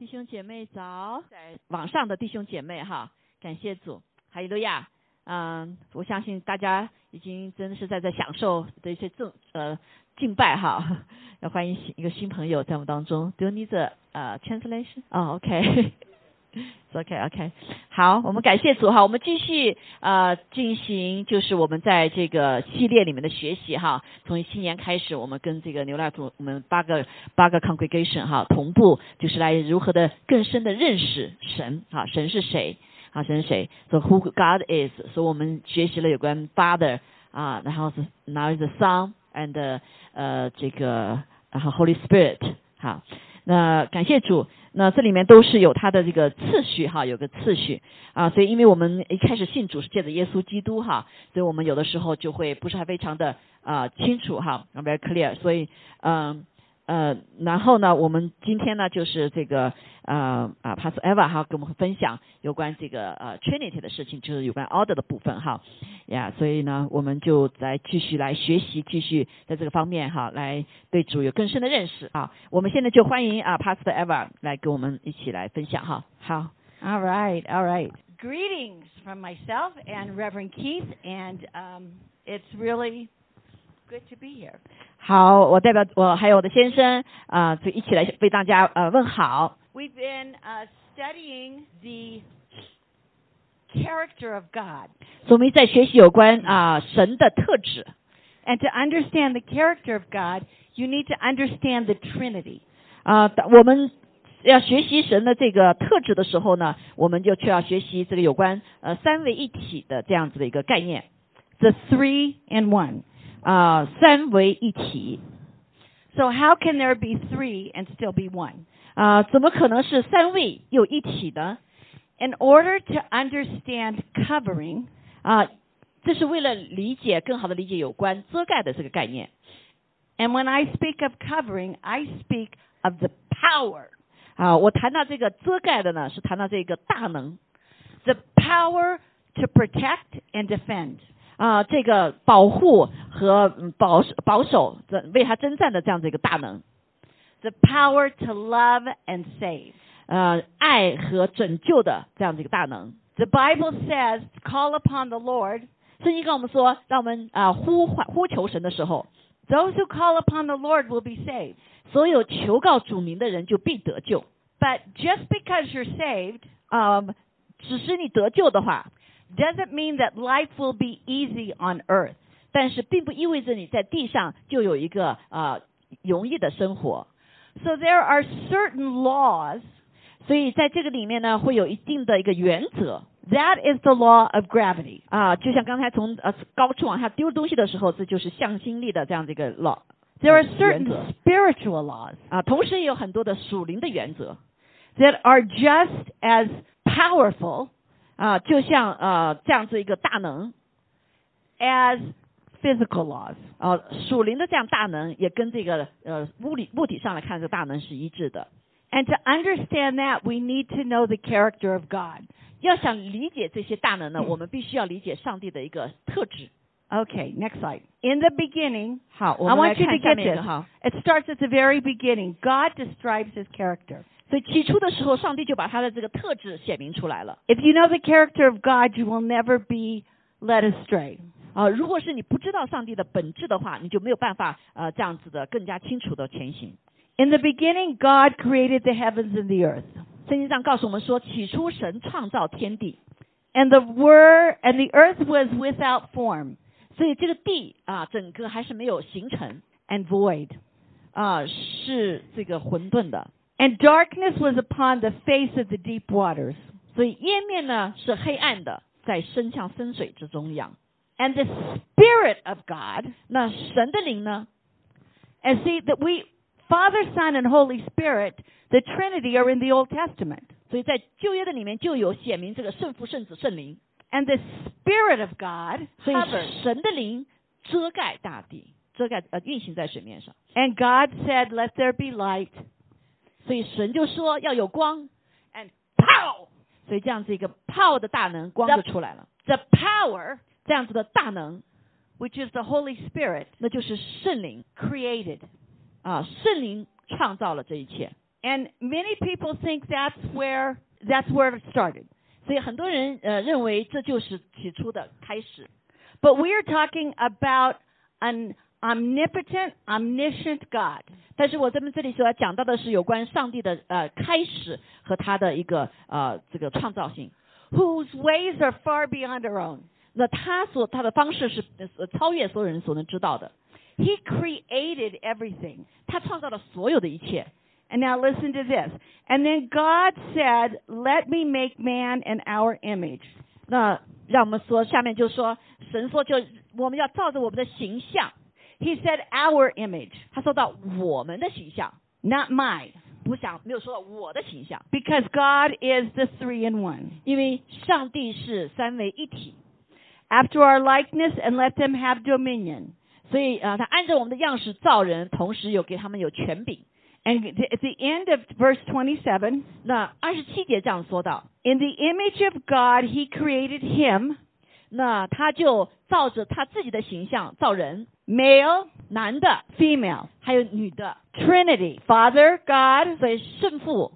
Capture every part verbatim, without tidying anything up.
弟兄姐妹早，在网上的弟兄姐妹哈，感谢主，哈利路亚。嗯，我相信大家已经真的是在这享受的一些正呃敬拜哈。要欢迎一个新朋友在我们当中。Do you need the 呃 translation？ 哦 ，OK。OK OK， 好，我们感谢主哈，我们继续呃进行就是我们在这个系列里面的学习哈。从新年开始，我们跟这个牛奶组我们八个八个 congregation 哈同步，就是来如何的更深的认识神哈，神是谁啊？神是谁 ？So who God is？ 所以我们学习了有关 Father 啊，然后是 now is the Son and 呃这个然后 Holy Spirit 好。那感谢主，那这里面都是有它的这个次序哈，有个次序啊，所以因为我们一开始信主是借着耶稣基督哈，所以我们有的时候就会不是还非常的啊清楚哈 ，very clear， 所以嗯 呃, 呃，然后呢，我们今天呢就是这个呃啊 Pastor Eva 哈跟我们分享有关这个呃 Trinity 的事情，就是有关 order 的部分哈呀，所以呢我们就来继续来学习，继续在这个方面哈来对主有更深的认识啊。我们现在就欢迎啊 Pastor Eva 来跟我们一起来分享哈。好 ，All right, all right. Greetings from myself and Reverend Keith, and um, it's really good to be here. 好，我代表我还有我的先生啊，就一起来为大家呃问好。 We've been uh, studying the character of God. 所以我们在学习有关啊神的特质。 And to understand the character of God, you need to understand the Trinity. 啊，我们要学习神的这个特质的时候呢，我们就需要学习这个有关呃三位一体的这样子的一个概念。 The three in one. 啊，三位一体。 So how can there be three and still be one? 啊，怎么可能是三位又一体呢？ In order to understand covering, 啊，这是为了理解更好的理解有关遮盖的这个概念。 And when I speak of covering, I speak of the power. 啊，我谈到这个遮盖的呢，是谈到这个大能。 The power to protect and defend. 啊，这个保护和保保守，为他征战的这样的一个大能。 The power to love and save. 呃，爱和拯救的这样的一个大能。 The Bible says, call upon the Lord. 圣经跟我们说，让我们啊、呃、呼唤呼求神的时候 Those who call upon the Lord will be saved. 所有求告主名的人就必得救。 But just because you're saved, 啊、呃，只是你得救的话 doesn't mean that life will be easy on earth. 但是并不意味着你在地上就有一个啊、呃、容易的生活。 So there are certain laws. 所以在这个里面呢，会有一定的一个原则。 That is the law of gravity. 啊，就像刚才从呃高处往下丢东西的时候，这就是向心力的这样的一个 law。 There are certain spiritual laws. 啊，同时也有很多的属灵的原则 that are just as powerful 啊，就像呃这样子一个大能 as physical laws. 啊，属灵的这样大能也跟这个呃物理物体上来看，这个大能是一致的。 And to understand that, we need to know the character of God. 要想理解这些大能呢，我们必须要理解上帝的一个特质。 Okay, next slide. In the beginning, 好，我 I 们来 want you 看 to 下 get 面一 this. 个哈。 It starts at the very beginning. God describes his character. 所以起初的时候，上帝就把他的这个特质显明出来了。 If you know the character of God, you will never be led astray. 啊，如果是你不知道上帝的本质的话，你就没有办法呃这样子的更加清楚的前行。 In the beginning, God created the heavens and the earth. 圣经上告诉我们说，起初神创造天地， And the word and the earth was without form 所以这个地啊，整个还是没有形成 and void. 啊，是这个混沌的。 And darkness was upon the face of the deep waters. 所以烟面呢是黑暗的，在深像深水之中一样。 And the Spirit of God, 那神的灵呢？ and see that we, Father, Son, and Holy Spirit, the Trinity are in the Old Testament. 所以在旧约的里面就有显明这个圣父、圣子、圣灵。 And the Spirit of God 所以 covered. 神的灵遮盖大地，遮盖呃运行在水面上。 And God said, "Let there be light." 所以神就说要有光， And pow! 所以这样子一个泡的大能，光就出来了。 The power, 这样子的大能， which is the Holy Spirit, 那就是圣灵 created. 啊，圣灵创造了这一切。 And many people think that's where that's where it started. 所以很多人呃认为这就是起初的开始。 But we are talking about an omnipotent, omniscient God. 但是我这边这里所要讲到的是有关上帝的呃开始和他的一个呃这个创造性。 Whose ways are far beyond our own. 那他所他的方式是呃超越所有人所能知道的。 He created everything. 他创造了所有的一切。 And now listen to this. And then God said, "Let me make man in our image." 那让我们说，下面就说，神说就我们要照着我们的形象。 He said our image. 他说到我们的形象 ，not mine. 不想没有说到我的形象。 Because God is the three in one. 因为上帝是三位一体。 After our likeness, and let them have dominion. 所以啊、呃，他按照我们的样式造人，同时有给他们有权柄。 And at the end of verse twenty-seven, 那二十七节这样说到 in the image of God, He created him. 那他就照着他自己的形象造人 ，male, 男的 female, 还有女的 Trinity, Father, God, 所以圣父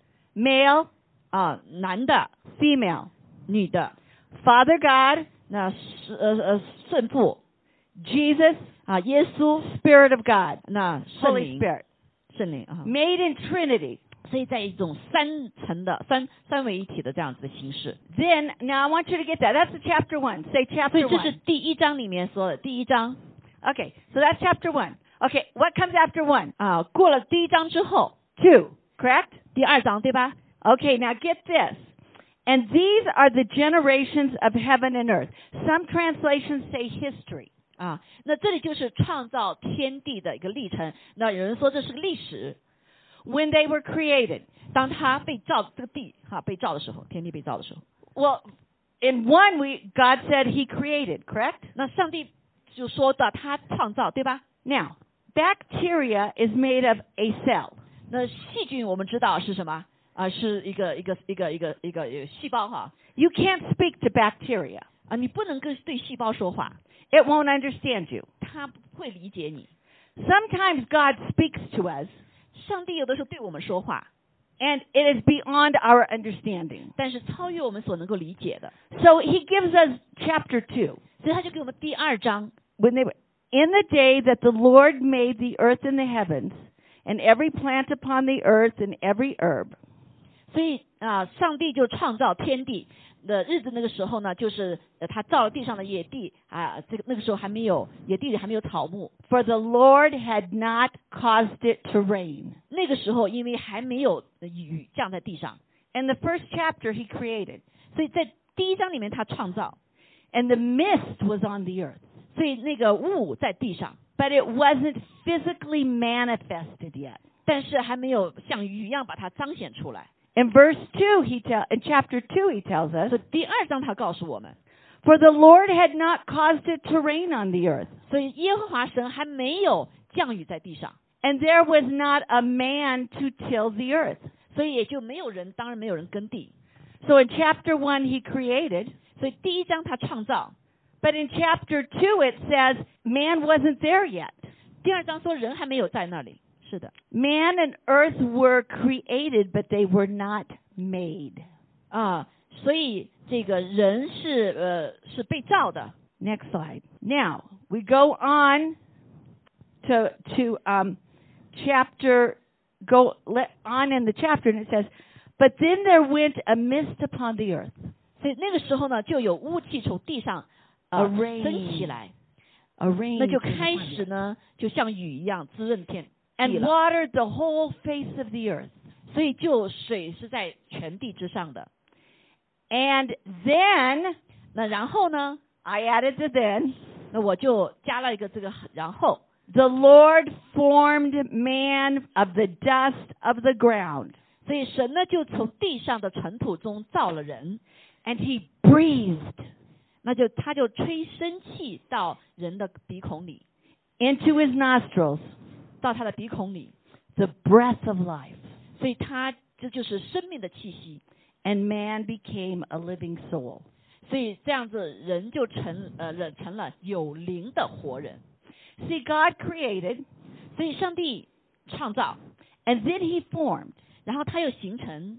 male, 啊、男的 female, 女的 Father God, 那是呃呃圣父 Jesus, 啊耶稣 Spirit of God, 那圣 Holy 灵 Spirit, 圣灵啊， made in Trinity. 所以在一种三层的三三位一体的这样子的形式。 Then, now I want you to get that. That's the chapter one. Say 所 chapter 以这是 one. 第一章里面说的第一章 Okay, so that's chapter one. Okay, what comes after one? 啊，过了第一章之后 Two, correct? 第二章对吧？ Okay, now get this. And these are the generations of heaven and earth. Some translations say history. 啊，那这里就是创造天地的一个历程。那有人说这是个历史。 When they were created. 当他被造这个地哈被造的时候，天地被造的时候， Well, in one we God said He created, correct? 那上帝就说到他创造，对吧？ Now, bacteria is made of a cell. 那细菌我们知道是什么啊？是一个一个一个一个一个一个细胞哈 You can't speak to bacteria. 啊，你不能跟对细胞说话， It won't understand you. 它不会理解你。 Sometimes God speaks to us, 上帝有的时候对我们说话， and it is beyond our understanding. 但是超越我们所能够理解的， So He gives us chapter two. 所以他就给我们第二章。 When they were in the day that the Lord made the earth and the heavens, and every plant upon the earth and every herb. 所以啊，上帝就创造天地的日子，那个时候呢，就是呃他造了地上的野地啊，这个那个时候还没有野地里还没有草木， For the Lord had not caused it to rain. 那个时候因为还没有雨降在地上， In the first chapter He created, 所以在第一章里面他创造， and the mist was on the earth, 所以那个雾在地上， but it wasn't physically manifested yet. 但是还没有像雨一样把它彰显出来。 In verse two, he tell in chapter two, he tells us, 所以第二章他告诉我们， for the Lord had not caused it to rain on the earth, 所以耶和华神还没有降雨在地上， and there was not a man to till the earth. 所以也就没有人，当然没有人耕地。 So in chapter one, he created, 所以第一章他创造， but in chapter two, it says man wasn't there yet. 第二章说人还没有在那里。是的， Man and earth were created, but they were not made. 啊，所以这个人是呃是被造的。 Next slide. Now we go on to to um, chapter go let, on in the chapter, and it says, but then there went a mist upon the earth. 所以那个时候呢，就有雾气从地上 A 呃 rain. 升起来， A rain 那就 came 开 upon 始 it, 呢，就像雨一样滋润天地 and 了。 watered the whole face of the earth. 所以就水是在全地之上的。 And then 那然后呢， I added the then. 那我就加了一个这个然后。 The Lord formed man of the dust of the ground, 所以神呢就从地上的尘土中造了人， and He breathed 那就他就吹生气到人的鼻孔里， into his nostrils 到他的鼻孔里， the breath of life, 所以他这就是生命的气息。 and man became a living soul. 所以这样子人就成呃人成了有灵的活人。 See, God created, 所以上帝创造， and then He formed. 然后它又形成。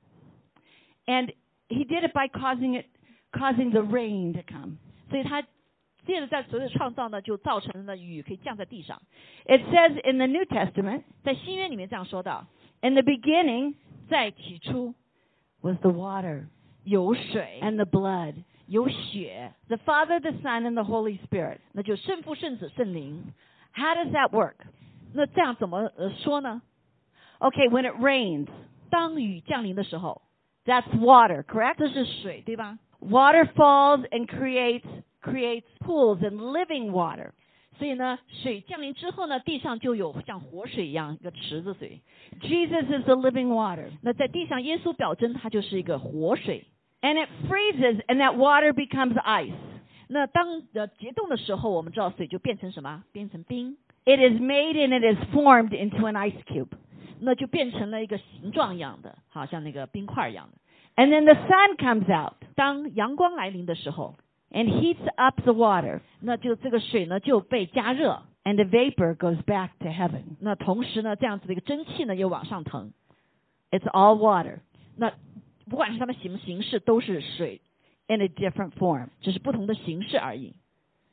And he did it by causing it, causing the rain to come. 所以他接着在所有的创造呢，就造成了雨可以降在地上。 It says in the New Testament, 在新约里面这样说到 in the beginning 在起初 was the water 有水 and the blood, 有血， the Father, the Son, and the Holy Spirit. 那就圣父圣子圣灵。 How does that work? 那这样怎么呃说呢？ Okay, when it rains, 当雨降临的时候， that's water, correct? 这是水，对吧？ Water falls and creates creates pools and living water. 所以呢，水降临之后呢，地上就有像活水一样一个池子水。 Jesus is the living water. 那在地上，耶稣表征他就是一个活水。 And it freezes and that water becomes ice. 那当呃结冻的时候，我们知道水就变成什么？变成冰。 It is made and it is formed into an ice cube. 那就变成了一个形状一样的，好像那个冰块一样的。 And then the sun comes out 当阳光来临的时候， and heats up the water. 那就这个水呢就被加热， And the vapor goes back to heaven. 那同时呢，这样子的一个蒸汽呢又往上腾。 It's all water 那不管是它们形形式，都是水， in a different form. 只是不同的形式而已。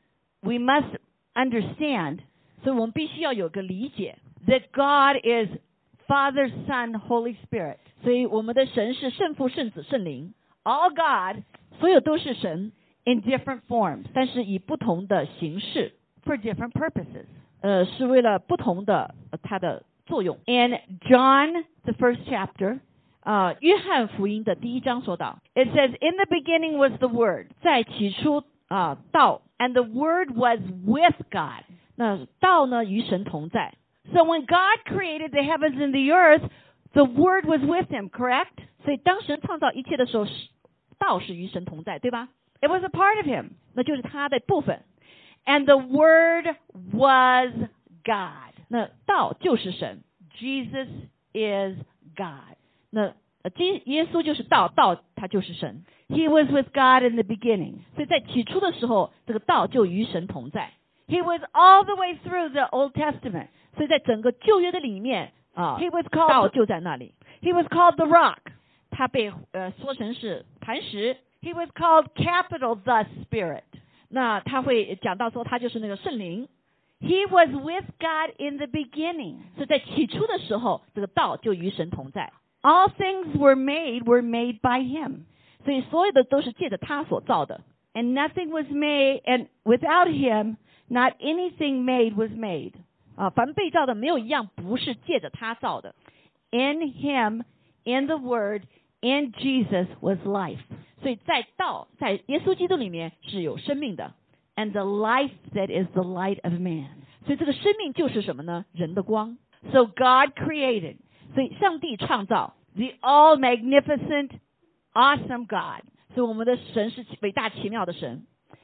We must understand 所以我们必须要有个理解， that God is Father, Son, Holy Spirit. 所以我们的神是圣父、圣子、圣灵， All God 所有都是神， in different forms 但是以不同的形式， for different purposes. 呃，是为了不同的呃它的作用。 In John, the first chapter, 啊、约翰福音的第一章说到， it says, in the beginning was the Word, 在起初啊、道， and the Word was with God. 那道呢与神同在。 So when God created the heavens and the earth, the Word was with him, correct? 所以当神创造一切的时候，是道是与神同在，对吧？ It was a part of him. 那就是他的部分。 And the Word was God. 那道就是神， Jesus is God. 那呃，基耶稣就是道，道他就是神。 He was with God in the beginning. 所以在起初的时候，这个道就与神同在。 He was all the way through the Old Testament. 所以在整个旧约的里面啊， He was 道 called 就在那里。 He was called the rock. 他被呃说成是磐石。 He was called capital the Spirit. 那他会讲到说，他就是那个圣灵。 He was with God in the beginning. 所以在起初的时候，这个道就与神同在。 All things were made were made by him. 所以所有的都是借着他所造的。 And nothing was made, and without him, not anything made was made. 啊，凡被造的没有一样不是借着他造的。 In him, in the Word, in Jesus was life. 所以在道，在耶稣基督里面是有生命的。 And the life that is the light of man. 所以这个生命就是什么呢？人的光。 So God created 所以上帝创造， the all magnificent, awesome God. 所以我们的神是伟大奇妙的神。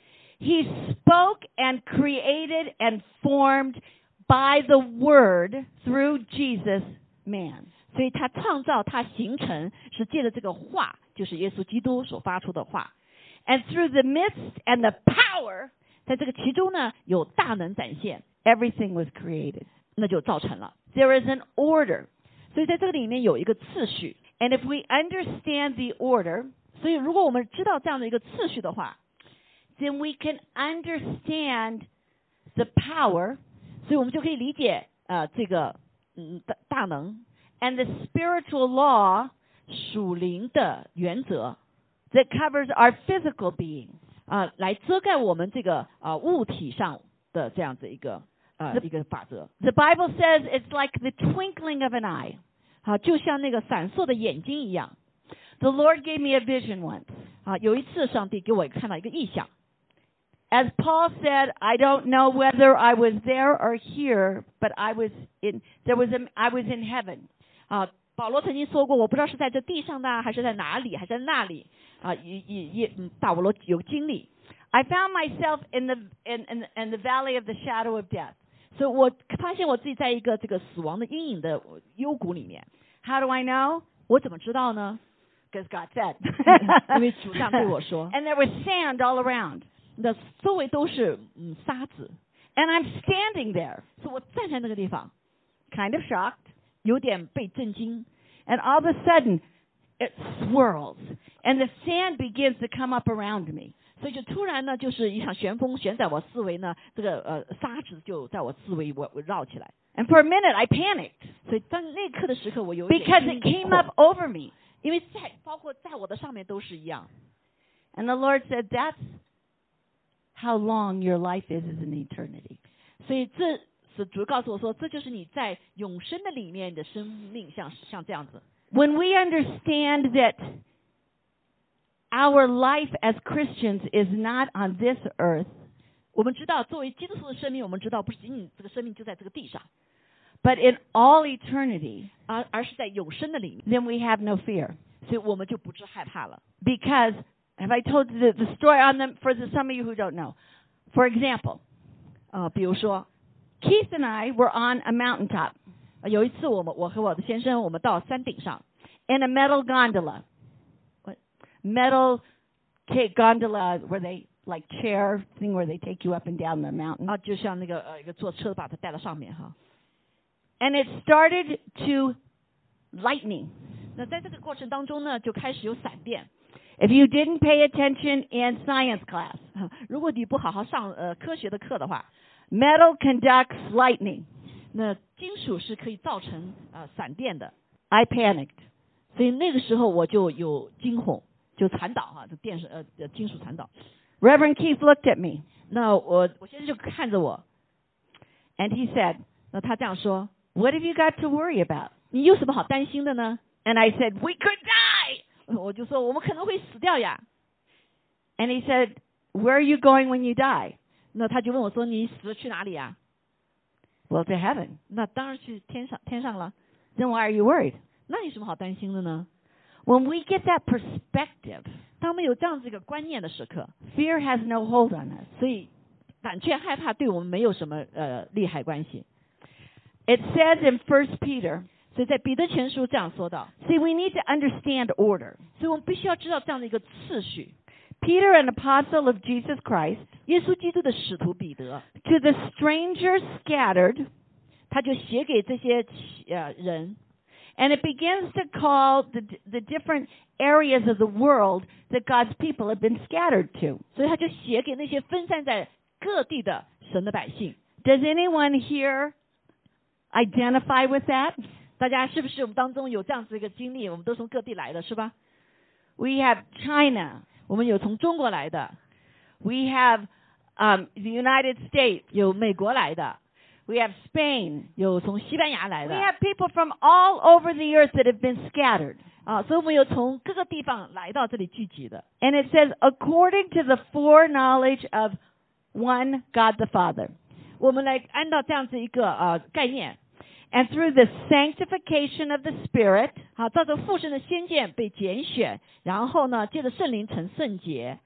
He spoke and created and formed by the Word through Jesus, man. 所以他创造，他形成是借着这个话，就是耶稣基督所发出的话。 And through the midst and the power, 在这个其中呢，有大能展现， everything was created. 那就造成了。 There is an order. 所以在这个里面有一个次序。 And if we understand the order, 所以如果我们知道这样的一个次序的话， then we can understand the power 所以我们就可以理解呃这个嗯大大能 and the spiritual law 属灵的原则 that covers our physical being. 啊、来遮盖我们这个啊、物体上的这样子一个呃一个法则。 The Bible says it's like the twinkling of an eye. 好、就像那个闪烁的眼睛一样。 The Lord gave me a vision once. 啊，有一次上帝给我看到一个异象。 As Paul said, I don't know whether I was there or here, but I was in there was a, I was in heaven. 啊，保罗曾经说过，我不知道是在这地上的，还是在哪里，还是在那里。啊，也也也，嗯，大保罗有经历。 I found myself in the in, in in the valley of the shadow of death. 所以我发现我自己在一个这个死亡的阴影的幽谷里面。 How do I know? 我怎么知道呢？ Because God said. 因为主上对我说。 And there was sand all around. 那周围都是嗯沙子， And I'm standing there, 所以我站在那个地方， kind of shocked. 有点被震惊。 and all of a sudden it swirls, and the sand begins to come up around me. 所以就突然呢，就是一场旋风旋在我四围呢，这个呃沙子就在我四围围围绕起来。 And for a minute I panicked. 所以在那刻的时刻，我有一点 Because it came up over me. 因为在包括在我的上面都是一样。 And the Lord said, "That's how long your life is is in eternity." 所以这是主告诉我说，这就是你在永生的里面的生命，像像这样子。 When we understand that our life as Christians is not on this earth, 我们知道作为基督徒的生命，我们知道不是仅仅这个生命就在这个地上， but in all eternity, 而而是在永生的里面， then we have no fear. 所以我们就不致害怕了。 Because, have I told you the, the story on them for the, some of you who don't know? For example, 呃，比如说， Keith and I were on a mountaintop 呃有一次我们我和我的先生，我们到山顶上， in a metal gondola. What? Metal ca- gondola where they, like chair thing where they take you up and down the mountain. 啊，就像那个呃一个坐车把它带到上面哈。 And it started to lightning. 那在这个过程当中呢，就开始有闪电。 If you didn't pay attention in science class, 如果你不好好上呃科学的课的话， metal conducts lightning. 那金属是可以造成呃闪电的。 I panicked. 所以那个时候我就有惊恐，就传导哈，这电视呃呃金属传导。 Reverend Keith looked at me 那我我先生就看着我， and he said, 那他这样说 "What have you got to worry about?" 你有什么好担心的呢？ And I said, "We could die." 我就说我们可能会死掉呀。 And he said, "Where are you going when you die?" 那他就问我说你死了去哪里呀？ Well, to heaven. 那当然去天上天上了。 Then why are you worried? 那有什么好担心的呢？ When we get that perspective, 当我们有这样子一个观念的时刻， fear has no hold on us. 所以胆怯害怕对我们没有什么呃利害关系。 It says in First Peter, 所以在彼得前书这样说到， see, we need to understand order. 所以我们必须要知道这样的一个次序。 Peter, an apostle of Jesus Christ, 耶稣基督的使徒彼得， to the strangers scattered, 他就写给这些呃人， and it begins to call the, the different areas of the world that God's people have been scattered to. 所以他就写给那些分散在各地的神的百姓。 Does anyone here identify with that? 大家是不是我们当中有这样子一个经历？我们都从各地来的，是吧？ We have China. 我们有从中国来的， We have um, the United States. 有美国来的， We have Spain. 有从西班牙来 We 的， have people from all over the earth that have been scattered. 啊，所以我们有从各个地方来到这里聚集的。 And it says, according to the foreknowledge of one God the Father, 我们来按照这样子一个呃概念， and through the sanctification of the Spirit, 好，照着父神的先见被拣选，然后呢，借着圣灵成圣洁，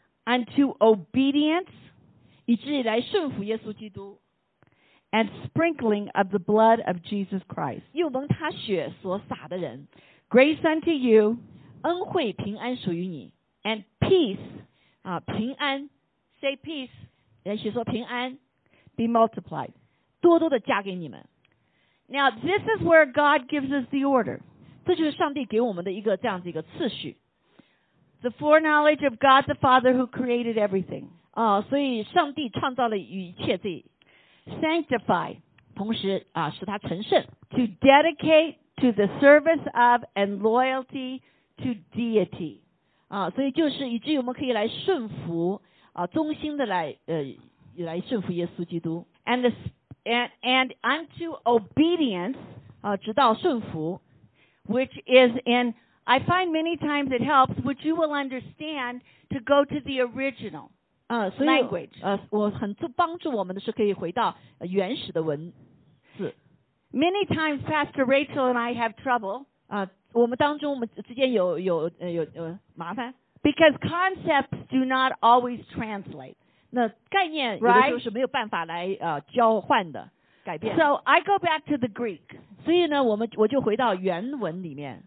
unto obedience 以至于来顺服耶稣基督， and sprinkling of the blood of Jesus Christ. 又蒙他血所洒的人， Grace unto you 恩惠平安属于你 and peace, 啊，平安， say peace, 也许说平安， be multiplied. 多多的加给你们。 Now, this is where God gives us the order. 这就是上帝给我们的一个这样子一个次序 The foreknowledge of God the Father who created everything. 啊，所以上帝创造了一切这， Sanctify, 同时啊使他成圣， to dedicate to the service of and loyalty to deity. 啊，所以就是以至于我们可以来顺服啊，忠心的来呃来顺服耶稣基督 And, the, and, and unto obedience, 啊，直到顺服 which is in, I find many times it helps, which you will understand, to go to the original 啊，所以 language. 呃我很助帮助我们的是可以回到呃原始的文字 Many times Pastor Rachel and I have trouble 啊，我们当中我们之间有有呃有呃麻烦， because concepts do not always translate. 那概念有的时候是没有办法来呃交换的改变。 So I go back to the Greek. 所以呢，我们我就回到原文里面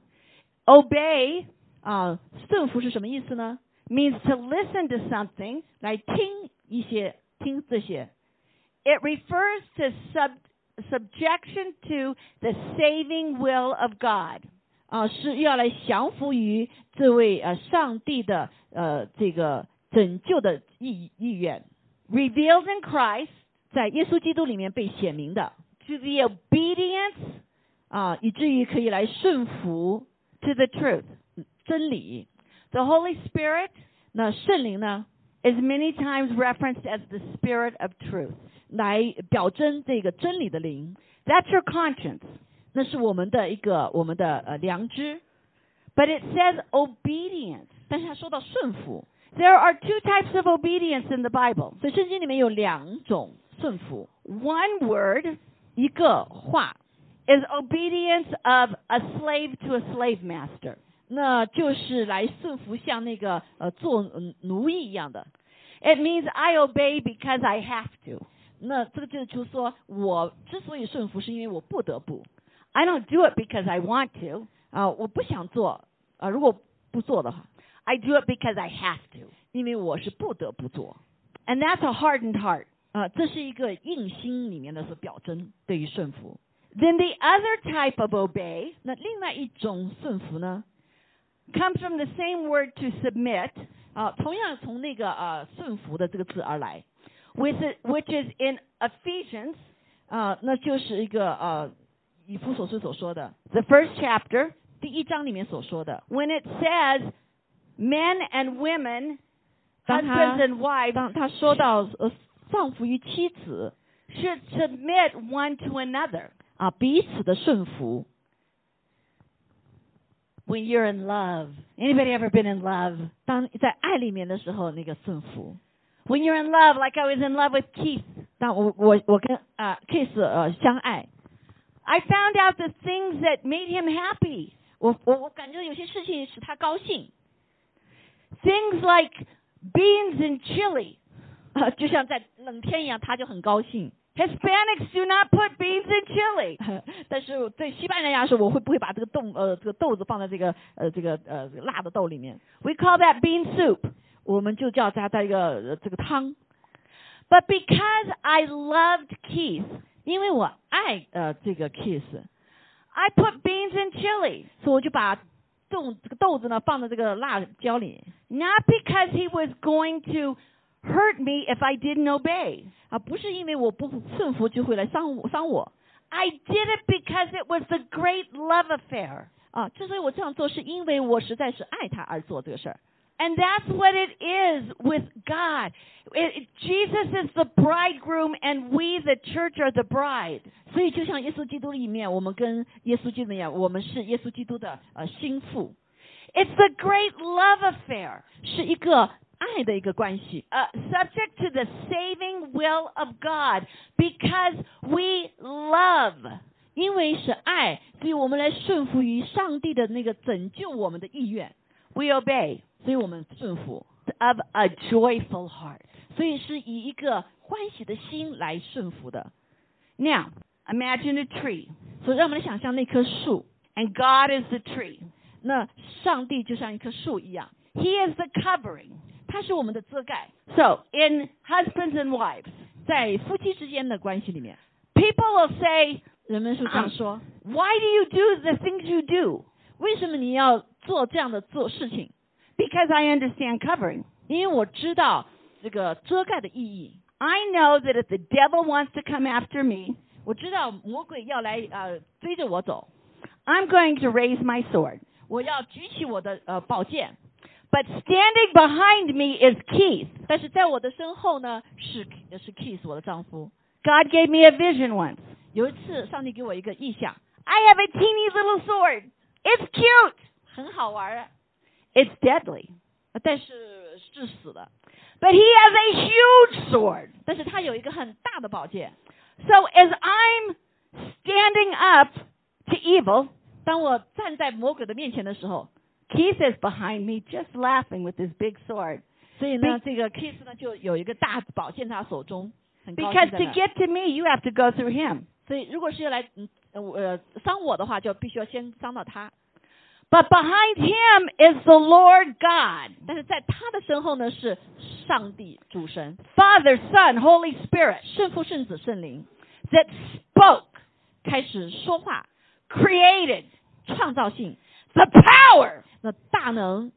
Obey 啊，顺服是什么意思呢？ means to listen to something. 来听一些听这些 It refers to sub, subjection to the saving will of God. 啊，是要来降服于这位呃上帝的呃这个拯救的意意愿 revealed in Christ 在耶稣基督里面被显明的 to the obedience 啊，以至于可以来顺服 to the truth. 真理。 The Holy Spirit 那圣灵呢， is many times referenced as the Spirit of truth. 来表征这个真理的灵， That's your conscience. 那是我们的一个我们的呃良知。 But it says obedience. 但是他说到顺服， There are two types of obedience in the Bible. 所以圣经里面有两种顺服， One word 一个话， is obedience of a slave to a slave master. 那就是来顺服像那个呃做嗯奴役一样的。 It means I obey because I have to. 那这个就是说我之所以顺服，是因为我不得不 I don't do it because I want to. 啊、我不想做啊、如果不做的话， I do it because I have to. 因为我是不得不做 And that's a hardened heart. 啊、这是一个硬心里面的所表征对于顺服。 Then the other type of obey 那另外一种顺服呢， comes from the same word to submit, 啊、同样从那个呃顺服的这个字而来 with it, which is in Ephesians, 啊、那就是一个呃以弗所书所说的 the first chapter, 第一章里面所说的， when it says men and women, 当他 husbands and wives, 当他说到呃丧服于妻子 should submit one to another. 啊、彼此的顺服。 When you're in love. Anybody ever been in love? 当在爱里面的时候，那个顺服。 When you're in love, like I was in love with Keith, 当我我我跟啊、Case 呃相爱， I found out the things that made him happy. 我我我感觉有些事情使他高兴 Things like beans and chili. 啊、就像在冷天一样，他就很高兴。 Hispanics do not put beans in chili. 但是对西班牙人来说，我会不会把这个豆呃这个豆子放在这个呃这个呃这个辣的豆里面？ We call that bean soup. 我们就叫它在一个、呃、这个汤。 But because I loved Keith, 因为我爱呃这个 Kiss， I put beans in chili. 所以我就把豆这个豆子呢放在这个辣椒里 Not because he was going to hurt me if I didn't obey. 啊，不是因为我不顺服就会来伤我伤我 I did it because it was the great love affair. 啊。之所以我这样做，是因为我实在是爱他而做这个事儿。 And that's what it is with God. It, it- Jesus is the bridegroom and we, the church, are the bride. 所以就像耶稣基督里面，我们跟耶稣基督一样，我们是耶稣基督的呃心腹， It's the great love affair, 是一个爱的一个关系。 uh, subject to the saving will of God because we love. 因为是爱，所以我们来顺服于上帝的那个拯救我们的意愿， We obey 所以我们顺服， of a joyful heart. 所以是以一个欢喜的心来顺服的。 Now, imagine a tree, 所以让我们来想象那棵树， and God is the tree. 那上帝就像一棵树一样， He is the covering. 它是我们的遮盖。 So, in husbands and wives, 在夫妻之间的关系里面， people will say, 人们是这样说： why do you do the things you do? 为什么你要做这样的做事情？ Because I understand covering. 因为我知道这个遮盖的意义。 I know that if the devil wants to come after me, 我知道魔鬼要来呃追着我走， I'm going to raise my sword. 我要举起我的呃宝剑， But standing behind me is Keith. 但是在我的身后呢是是 Keith 我的丈夫。 God gave me a vision once. 有一次，上帝给我一个意象， I have a teeny little sword. It's cute. 很好玩儿， It's deadly. 但是致死的。 But he has a huge sword. 但是他有一个很大的宝剑。 So as I'm standing up to evil, 当我站在魔鬼的面前的时候， Keith is behind me just laughing with his big sword. 所以呢，这个 Keith 呢就有一个大宝剑在他手中，很高兴 Because 在 to 那。 get to me, you have to go through him. 所以如果是要来嗯呃伤我的话，就必须要先伤到他。 But behind him is the Lord God, 但是在他的身后呢是上帝主神， Father, Son, Holy Spirit, 圣父、圣子、圣灵， that spoke, 开始说话， created, 创造性， the power 那大能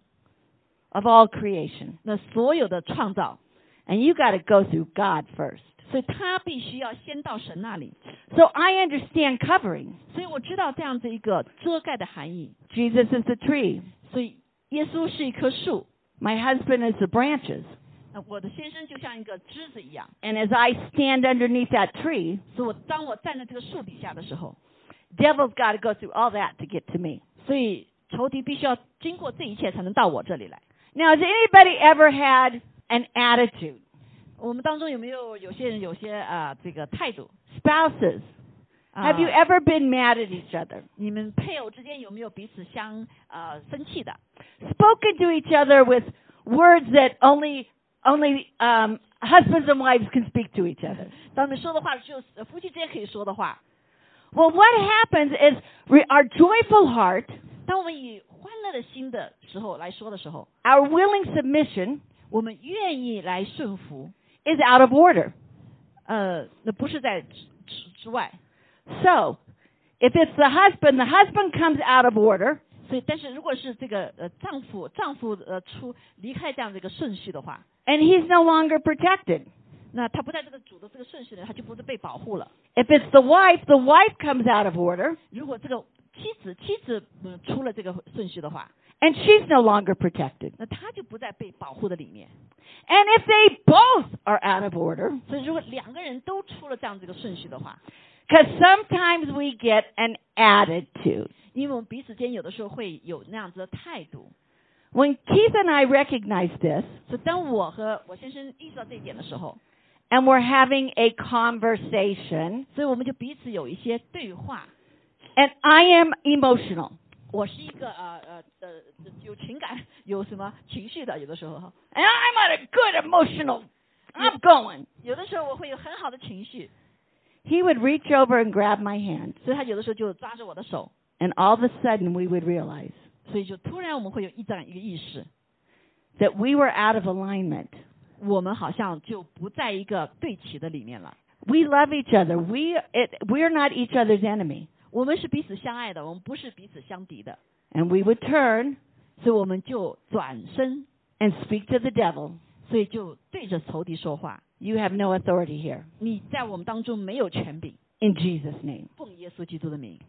of all creation. 那所有的创造， And you got to go through God first. 所以他必须要先到神那里。 So I understand covering. 所以我知道这样子一个遮盖的含义。 Jesus is the tree. 所以耶稣是一棵树， My husband is the branches. 那我的先生就像一个枝子一样。 And as I stand underneath that tree, 所以我当我站在这个树底下的时候， devil's got to go through all that to get to me. 所以仇敌必须要经过这一切才能到我这里来。 Now, has anybody ever had an attitude? 我们当中有没有有些人有些啊、呃、这个态度？ Spouses, 啊 have you ever been mad at each other? 你们配偶之间有没有彼此相呃生气的？ Spoken to each other with words that only only um, husbands and wives can speak to each other. 当你们说的话只有呃夫妻之间可以说的话。 Well, what happens is re- our joyful heart, 当我们以欢乐的心的时候来说的时候， our willing submission 我们愿意来顺服， is out of order. 呃，那不是在之之之外。 So, if it's the husband, the husband comes out of order, 所以，但是如果是这个呃丈夫丈夫呃出离开这样的一个顺序的话， and he's no longer protected. 那他不在这个主的这个顺序呢，他就不是被保护了。 If it's the wife, the wife comes out of order, 如果这个妻子妻子嗯出了这个顺序的话， and she's no longer protected. 那他就不在被保护的里面。 And if they both are out of order, 所以，如果两个人都出了这样这个顺序的话， because sometimes we get an attitude. 因为我们彼此间有的时候会有那样子的态度。 When Keith and I recognize this, 所以，当我和我先生意识到这一点的时候， and we're having a conversation, 所以我们就彼此有一些对话。 and I am emotional, 我是一个呃呃呃有情感、有什么情绪的，有的时候哈， and I'm at a good emotional, I'm going. 有的时候我会有很好的情绪， He would reach over and grab my hand, 所以他有的时候就抓着我的手， and all of a sudden we would realize 所以就突然我们会有一这样一个意识， that we were out of alignment. 我们好像就不在一个对齐的里面了。 We love each other. We it, we're not each other's enemy. 我们是彼此相爱的，我们不是彼此相敌的， And we would turn 所以我们就转身， and speak to the devil. 所以就对着仇敌说话。 You have no authority here. 你在我们当中没有权柄， In Jesus' name. 奉耶稣基督的名。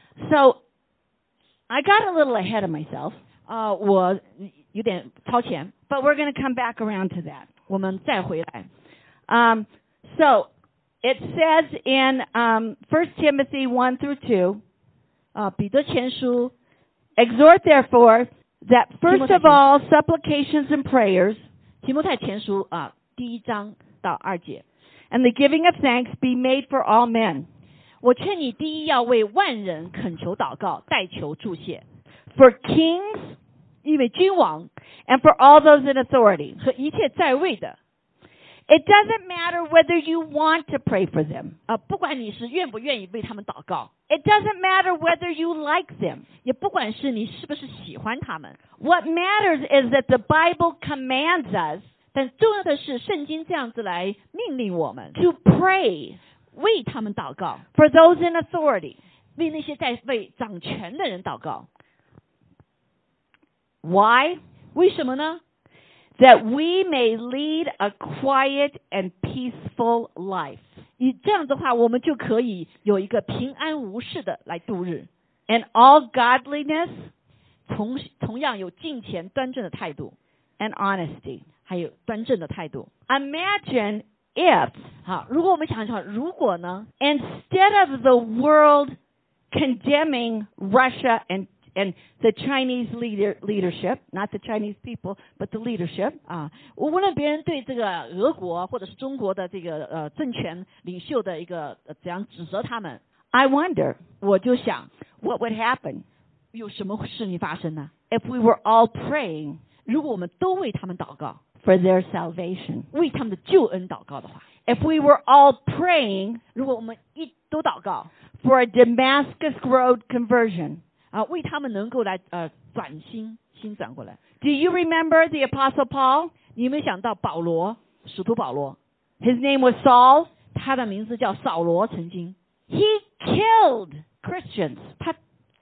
So I got a little ahead of myself, 啊、我有点超前， but we're going to come back around to that. 我们再回来。 Um, so it says in um, First Timothy one through two, 啊、彼得前书 exhort therefore that first Timothy. of all supplications and prayers 提摩太前书啊、第一章到二节， and the giving of thanks be made for all men, 我劝你第一要为万人恳求祷告，代求祝谢， for kings 因为君王 and for all those in authority. 和一切在位的 It doesn't matter whether you want to pray for them. 啊、不管你是愿不愿意为他们祷告， It doesn't matter whether you like them. 也不管是你是不是喜欢他们， What matters is that the Bible commands us 但重要的是圣经这样子来命令我们 to pray 为他们祷告， for those in authority. 为那些在位掌权的人祷告。 Why? 为什么呢？ That we may lead a quiet and peaceful life 以这样的话，我们就可以有一个平安无事的来度日， in all godliness 同同样有敬虔端正的态度， and honesty. 还有端正的态度。 Imagine if 好，如果我们想想，如果呢， instead of the world condemning Russia and and the Chinese leader leadership, not the Chinese people, but the leadership, 啊，无论别人对这个俄国或者是中国的这个呃政权领袖的一个、呃、怎样指责他们， I wonder 我就想 what would happen 有什么事情发生呢？ if we were all praying 如果我们都为他们祷告， for their salvation. 为他们的救恩祷告的话， If we were all praying 如果我们一都祷告 for a Damascus Road conversion. 啊，为他们能够来呃转心心转过来。 Do you remember the Apostle Paul? 你有没有想到保罗，使徒保罗， His name was Saul. 他的名字叫扫罗，曾经 He killed Christians. 他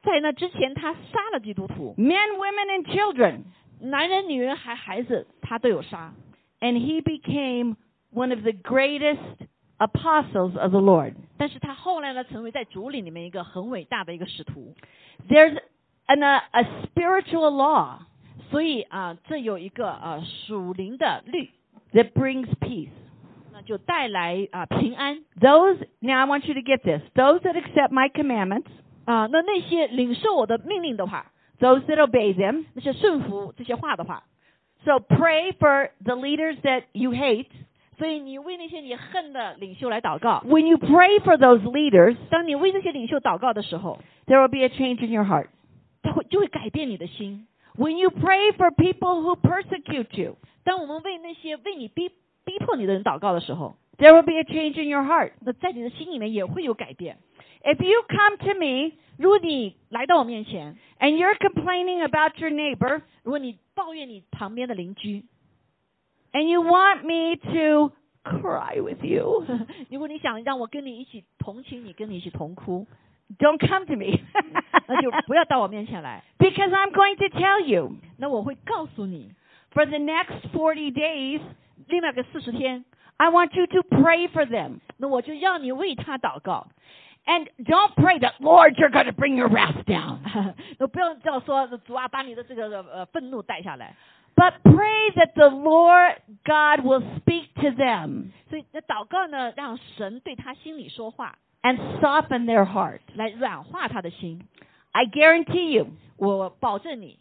在那之前他杀了基督徒， men, women, and children. 男人、女人还孩子他都有杀。 And he became one of the greatest apostles of the Lord. 但是他后来呢，成为在主里里面一个很伟大的一个使徒。 There's an, a, a spiritual law 所以啊、呃，这有一个呃属灵的律， that brings peace. 那就带来啊、呃、平安。 Those, now I want you to get this, those that accept my commandments, 啊、那那些领受我的命令的话， those that obey them, 那些顺服这些话的话， so pray for the leaders that you hate. 所以你为那些你恨的领袖来祷告。 When you pray for those leaders, 当你为这些领袖祷告的时候， there will be a change in your heart. 他会就会改变你的心。 When you pray for people who persecute you, 当我们为那些为你逼逼迫你的人祷告的时候， there will be a change in your heart. 那在你的心里面也会有改变。 If you come to me 如果你来到我面前， and you're complaining about your neighbor, 如果你抱怨你旁边的邻居， and you want me to cry with you, 如果你想让我跟你一起同情你，跟你一起同哭， don't come to me. 那就不要到我面前来。 Because I'm going to tell you, 那我会告诉你， for the next forty days, 另外个四十天， I want you to pray for them. 那我就要你为他祷告。 And don't pray that, Lord, you're going to bring your wrath down. 那不要这样说，主啊，把你的这个呃愤怒带下来。 But pray that the Lord God will speak to them 所以那祷告呢，让神对他心里说话， and soften their heart. 来软化他的心。 I guarantee you, 我保证你，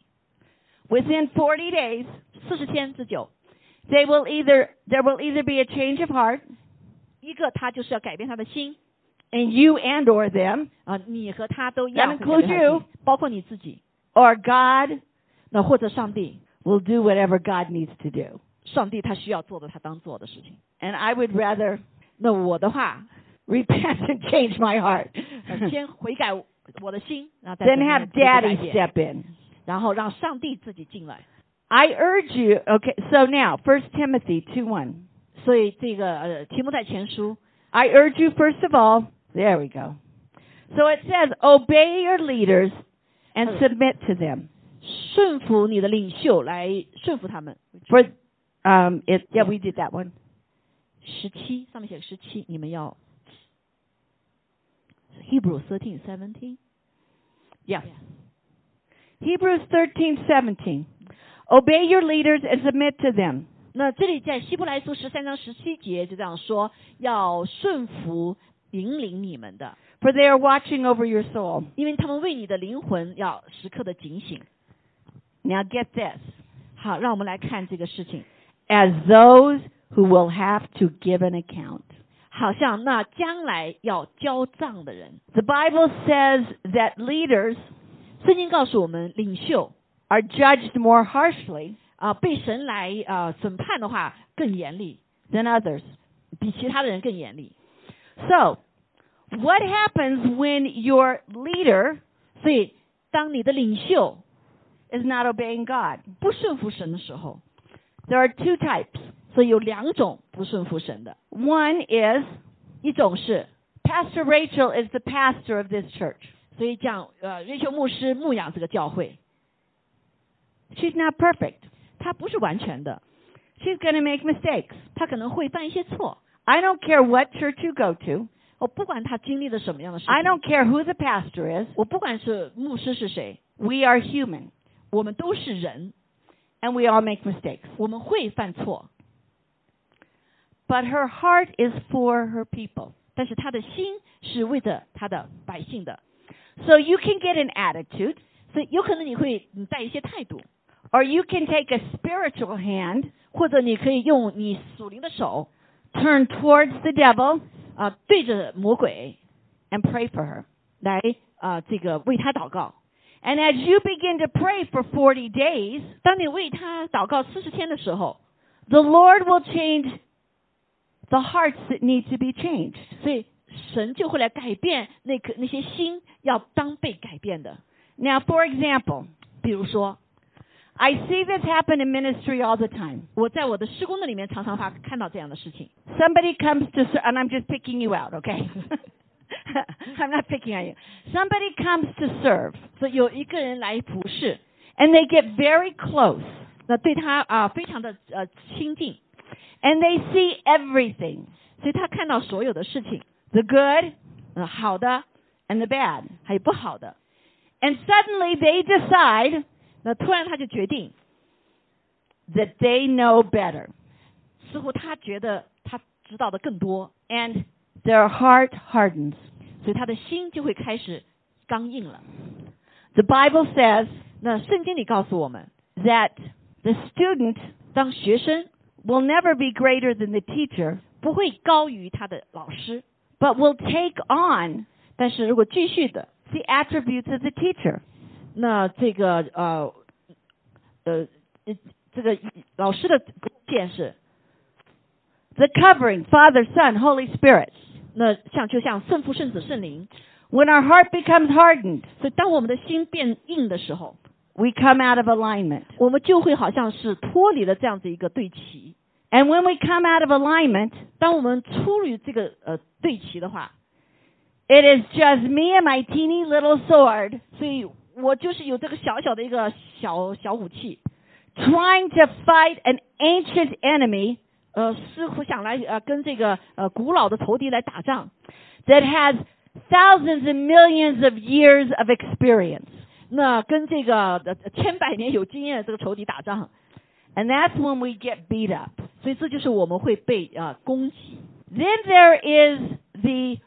within forty days, 四十天之久， they will either, there will either be a change of heart 一个他就是要改变他的心 in you and or them, 啊，你和他都要 That 会改 includes 变他的 you. 心，包括你自己， or God 那或者上帝， will do whatever God needs to do. 上帝他需要做的，他当做的事情。 And I would rather 那我的话， repent and change my heart 呃先悔改我的心，然后再 than have 改 Daddy 变， step in. 然后让上帝自己进来。 I urge you, okay, so now, First Timothy two one. 所以这个呃提摩太前书， I urge you, first of all, there we go. So it says, obey your leaders and submit to them. 顺服你的领袖，来顺服他们。 For, um, it, yeah, we did that one. 十七上面写十七，你们要 Hebrew thirteen seventeen。 Yeah. Hebrews thirteen seventeen. Obey your leaders and submit to them. 那这里在希伯来书十三章十七节就这样说，要顺服引领你们的， For they are watching over your soul. 因为他们为你的灵魂要时刻的警醒。 Now get this. 好，让我们来看这个事情， As those who will have to give an account. 好像那将来要交账的人。 The Bible says that leaders 圣经告诉我们，领袖 are judged more harshly 啊、被神来啊、审判的话更严厉， than others. 比其他的人更严厉。 So, what happens when your leader 所以，当你的领袖 is not obeying God? 不顺服神的时候， There are two types. 所以有两种不顺服神的， One is 一种是， Pastor Rachel is the pastor of this church. 所以讲呃，瑞秋牧师牧养这个教会， She's not perfect. 他不是完全的， She's going to make mistakes. 他可能会犯一些错。 I don't care what church you go to. 我不管他经历了什么样的事情， I don't care who the pastor is. 我不管是牧师是谁， We are human, 我们都是人， and we all make mistakes. 我们会犯错， But her heart is for her people. 但是他的心是为着他的百姓的， So you can get an attitude, 所以有可能你会嗯带一些态度， or you can take a spiritual hand, 或者你可以用你属灵的手 turn towards the devil, 啊、对着魔鬼 and pray for her. 来啊、这个为他祷告。 And as you begin to pray for forty days, 当你为他祷告四十天的时候， the Lord will change the hearts that need to be changed. 所以神就会来改变那颗那些心要当被改变的。 Now, for example, 比如说， I see this happen in ministry all the time. 我在我的施工的里面常常发看到这样的事情。 Somebody comes to, ser- and I'm just picking you out, okay? I'm not picking on you. Somebody comes to serve, 所以有一个人来服侍， and they get very close, 那对他啊、非常的呃亲近， and they see everything, 所以他看到所有的事情， the good 呃好的 and the bad. 还有不好的， And suddenly they decide 那突然他就决定， that they know better, 似乎他觉得他知道的更多， and their heart hardens. 所以他的心就会开始刚硬了。 The Bible says 那圣经里告诉我们， that the student 当学生 will never be greater than the teacher, 不会高于他的老师， but will take on 但是如果继续的， the attributes of the teacher. 那这个呃呃这个老师的见识， The covering, Father, Son, Holy Spirit. 那像就像圣父、圣子、圣灵， When our heart becomes hardened, 所以当我们的心变硬的时候， we come out of alignment. 我们就会好像是脱离了这样子一个对齐。 And when we come out of alignment, 当我们出于这个呃对齐的话， it is just me and my teeny little sword 所以我就是有这个小小的一个小小武器， trying to fight an ancient enemy 呃，似乎想来呃跟这个呃古老的仇敌来打仗， that has thousands and millions of years of experience. 那跟这个呃千百年有经验的这个仇敌打仗， And that's when we get beat up. 所以这就是我们会被啊、呃、攻击。 Then there is the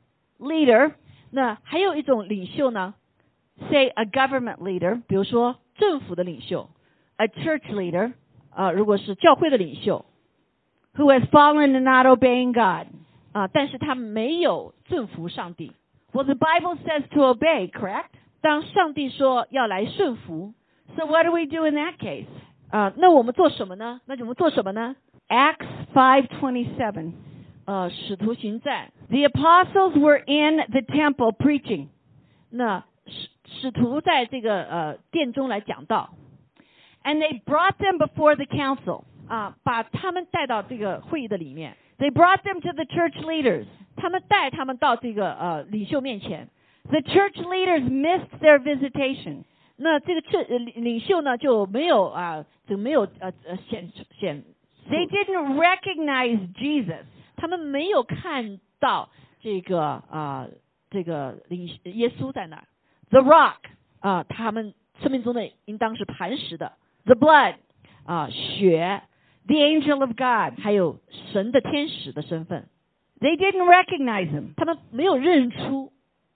leader, 那还有一种领袖呢， say a government leader, 比如说政府的领袖， a church leader, 啊、如果是教会的领袖， who has fallen to not obeying God. 啊、但是他没有顺服上帝。 Well, the Bible says to obey, correct? 当上帝说要来顺服， So what do we do in that case? 啊、那我们做什么呢？那我们做什么呢？ Acts five twenty-seven. 呃，使徒行传， The apostles were in the temple preaching, 那使使徒在这个呃殿中来讲道， and they brought them before the council. 啊，把他们带到这个会议的里面， They brought them to the church leaders. 他们带他们到这个呃领袖面前。 The church leaders missed their visitation. 那这个这呃领领袖呢就没有啊，就没有呃呃显显， They didn't recognize Jesus. 他们没有看到这个啊、这个领耶稣在那儿 The rock, 啊，他们生命中的应当是磐石的 the blood, 啊，血， the angel of God. 还有神的天使的身份， They didn't recognize him. 他们没有认出，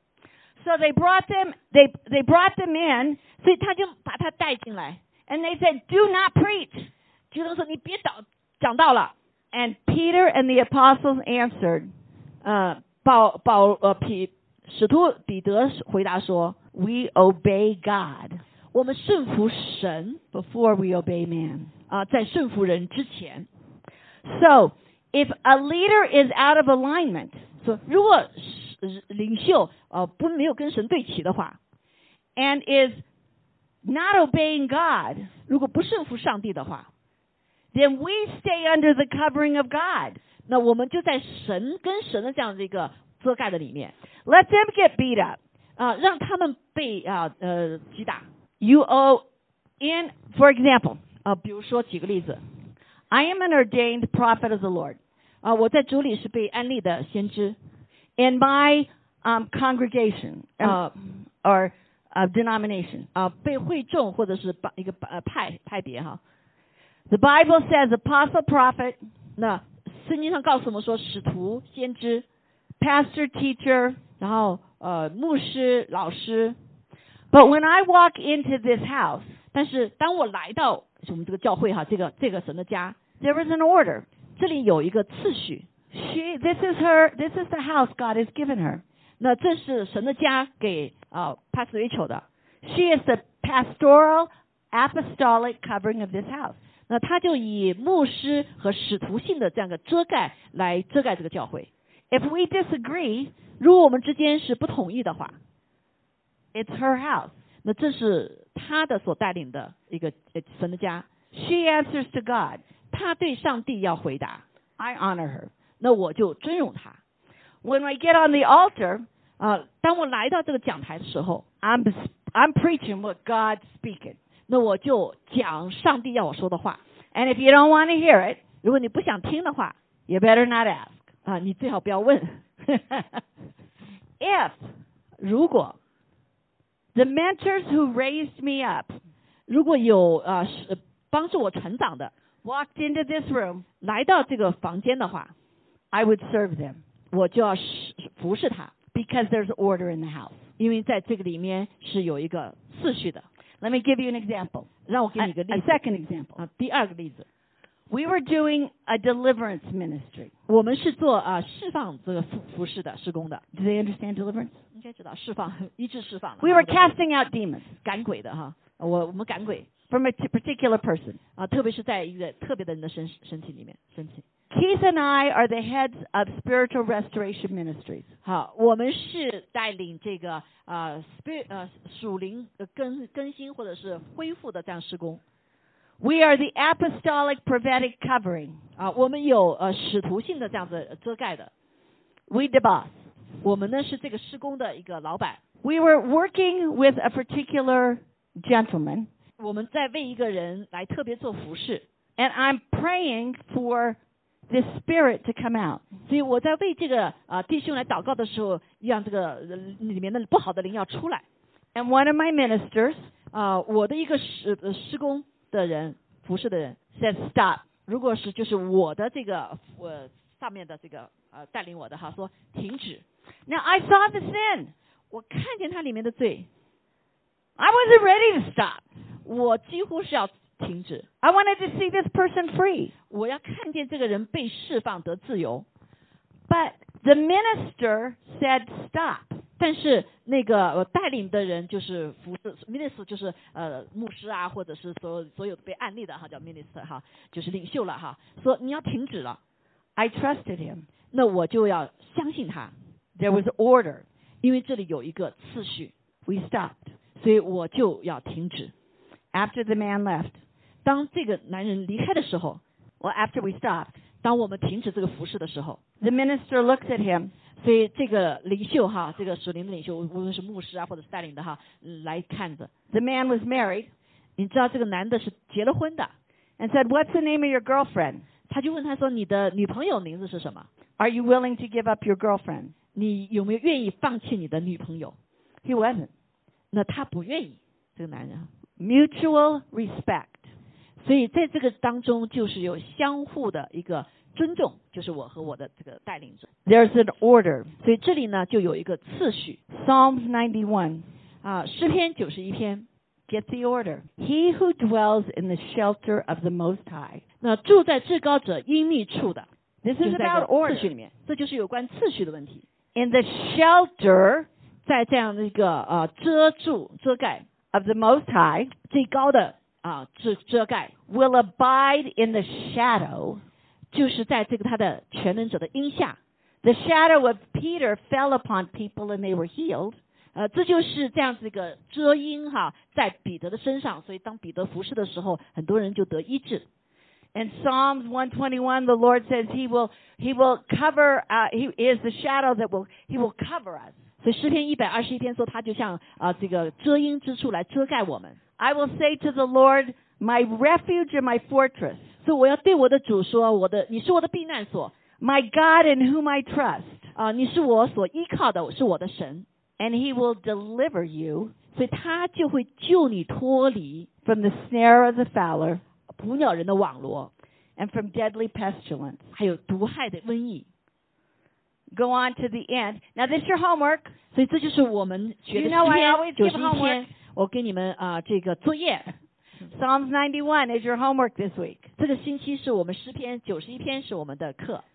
So they brought them, they, they brought them in, 所以他就把他带进来， and they said, do not preach. 就能说你别讲讲道了。 And Peter and the apostles answered, 呃，保保呃彼使徒彼得回答说， we obey God 我们顺服神 before we obey man. 啊、在顺服人之前。 So if a leader is out of alignment, 说如果是领袖呃不没有跟神对齐的话， and is not obeying God, 如果不顺服上帝的话， then we stay under the covering of God. 那我们就在神跟神的这样的一个遮盖的里面 Let them get beat up. 啊、让他们被啊呃击打 You owe in, for example, 啊、比如说举个例子 I am an ordained prophet of the Lord. 啊、我在主里是被安利的先知 In my um, congregation um, 啊 or uh, denomination, 啊、被会众或者是把一个呃派派别哈。 the Bible says apostle, prophet, 那圣经上告诉我们说，使徒、先知， pastor, teacher. 然后呃牧师、老师。 But when I walk into this house, 但是当我来到我们这个教会哈，这个这个神的家， there is an order. 这里有一个次序。 She, this is her, this is the house God has given her. 那这是神的家给啊 Pastor Rachel 的。 She is the pastoral, apostolic covering of this house. 那他就以牧师和使徒性的这样一个遮盖来遮盖这个教会。 If we disagree, 如果我们之间是不同意的话， it's her house. 那这是他的所带领的一个呃神的家。 She answers to God. 他对上帝要回答， I honor her. 那我就尊荣他。 When we get on the altar, 啊，当我来到这个讲台的时候， I'm I'm preaching what God's speaking. 那我就讲上帝要我说的话。 And if you don't want to hear it, 如果你不想听的话， you better not ask. 啊，你最好不要问。 If 如果 the mentors who raised me up 如果有啊是帮助我成长的 walked into this room, 来到这个房间的话， I would serve them 我就要服侍他， because there's order in the house. 因为在这个里面是有一个次序的。 Let me give you an example. 让我给 A, 你一个 a 例子 second example. 啊，第二个例子， We were doing a deliverance ministry. 我们是做啊释放这个服服侍的施工的， Do they understand deliverance? 应该知道释放医治释放的。 We were casting out demons 赶鬼的哈，我我们赶鬼 from a t- particular person. 啊，特别是在一个特别的人的身身体里面身体。 Keith and I are the heads of spiritual restoration ministries. 好，我们是带领这个呃 spirit 呃属灵呃更更新或者是恢复的这样施工 We are the apostolic prophetic covering. 啊，我们有呃使徒性的这样子遮盖的， We the boss. 我们呢是这个施工的一个老板， We were working with a particular gentleman, 我们在为一个人来特别做服侍， and I'm praying for this spirit to come out. 所以我在为这个啊、呃、弟兄来祷告的时候，让这个、呃、里面的不好的灵要出来 And one of my ministers 啊、我的一个施呃施工的人服侍的人 said, "Stop." 如果是就是我的这个呃上面的这个呃带领我的哈说停止， Now I saw the sin. 我看见它里面的罪， I wasn't ready to stop. 我几乎是要停止， I wanted to see this person free. 我要看见这个人被释放得自由。 But the minister said, "Stop." 但是那个呃带领的人就是服侍 minister 就是呃牧师啊，或者是所有所有被案例的哈叫 minister 哈，就是领袖了哈，说你要停止了， I trusted him. 那我就要相信他， There was order. 因为这里有一个次序， We stopped. 所以我就要停止。 After the man left, 当这个男人离开的时候， well, after we stopped, 当我们停止这个服侍的时候， the minister looks at him 所以这个领袖哈，这个属灵的领袖，无论是牧师啊或者是带领的哈，嗯来看着， The man was married 你知道这个男的是结了婚的， and said, "What's the name of your girlfriend? 他就问他说你的女朋友名字是什么？ Are you willing to give up your girlfriend?" 你有没有愿意放弃你的女朋友？ He wasn't. 那他不愿意，这个男人。 Mutual respect. 所以在这个当中，就是有相互的一个尊重，就是我和我的这个带领者。 There's an order. 所以这里呢，就有一个次序 Psalms ninety-one. 啊，诗篇九十一篇， Get the order. He who dwells in the shelter of the Most High. 那住在至高者阴密处的， This 就 is 是在 about 这个次 order. 序里面，这就是有关次序的问题。 In the shelter 在这样的一个呃遮住遮盖 of the Most High 最高的啊遮遮盖， will abide in the shadow. 就是在这个他的全能者的荫下。 The shadow of Peter fell upon people and they were healed. 呃，这就是这样子一个遮阴哈，在彼得的身上，所以当彼得服侍的时候，很多人就得医治。 In Psalms one twenty-one, the Lord says He will He will cover. Uh, he is the shadow that will He will cover us. 所以诗篇一百二十一篇说，他就像啊、呃、这个遮阴之处来遮盖我们。 I will say to the Lord, "My refuge and my fortress, 所以我要对我的主说，我的你是我的避难所 my God in whom I trust." 啊、你是我所依靠的，是我的神， And He will deliver you 所以他就会救你脱离 from the snare of the fowler 捕鸟人的网罗， and from deadly pestilence. 还有毒害的瘟疫。 Go on to the end. Now, this is your homework. 所以这就是我们学的 You know I 诗 always 篇九 give 十一 homework. 篇，我给你们啊、这个作业。 Psalms ninety-one is your homework this week. 这个星期是我们诗篇九十一篇是我们的课，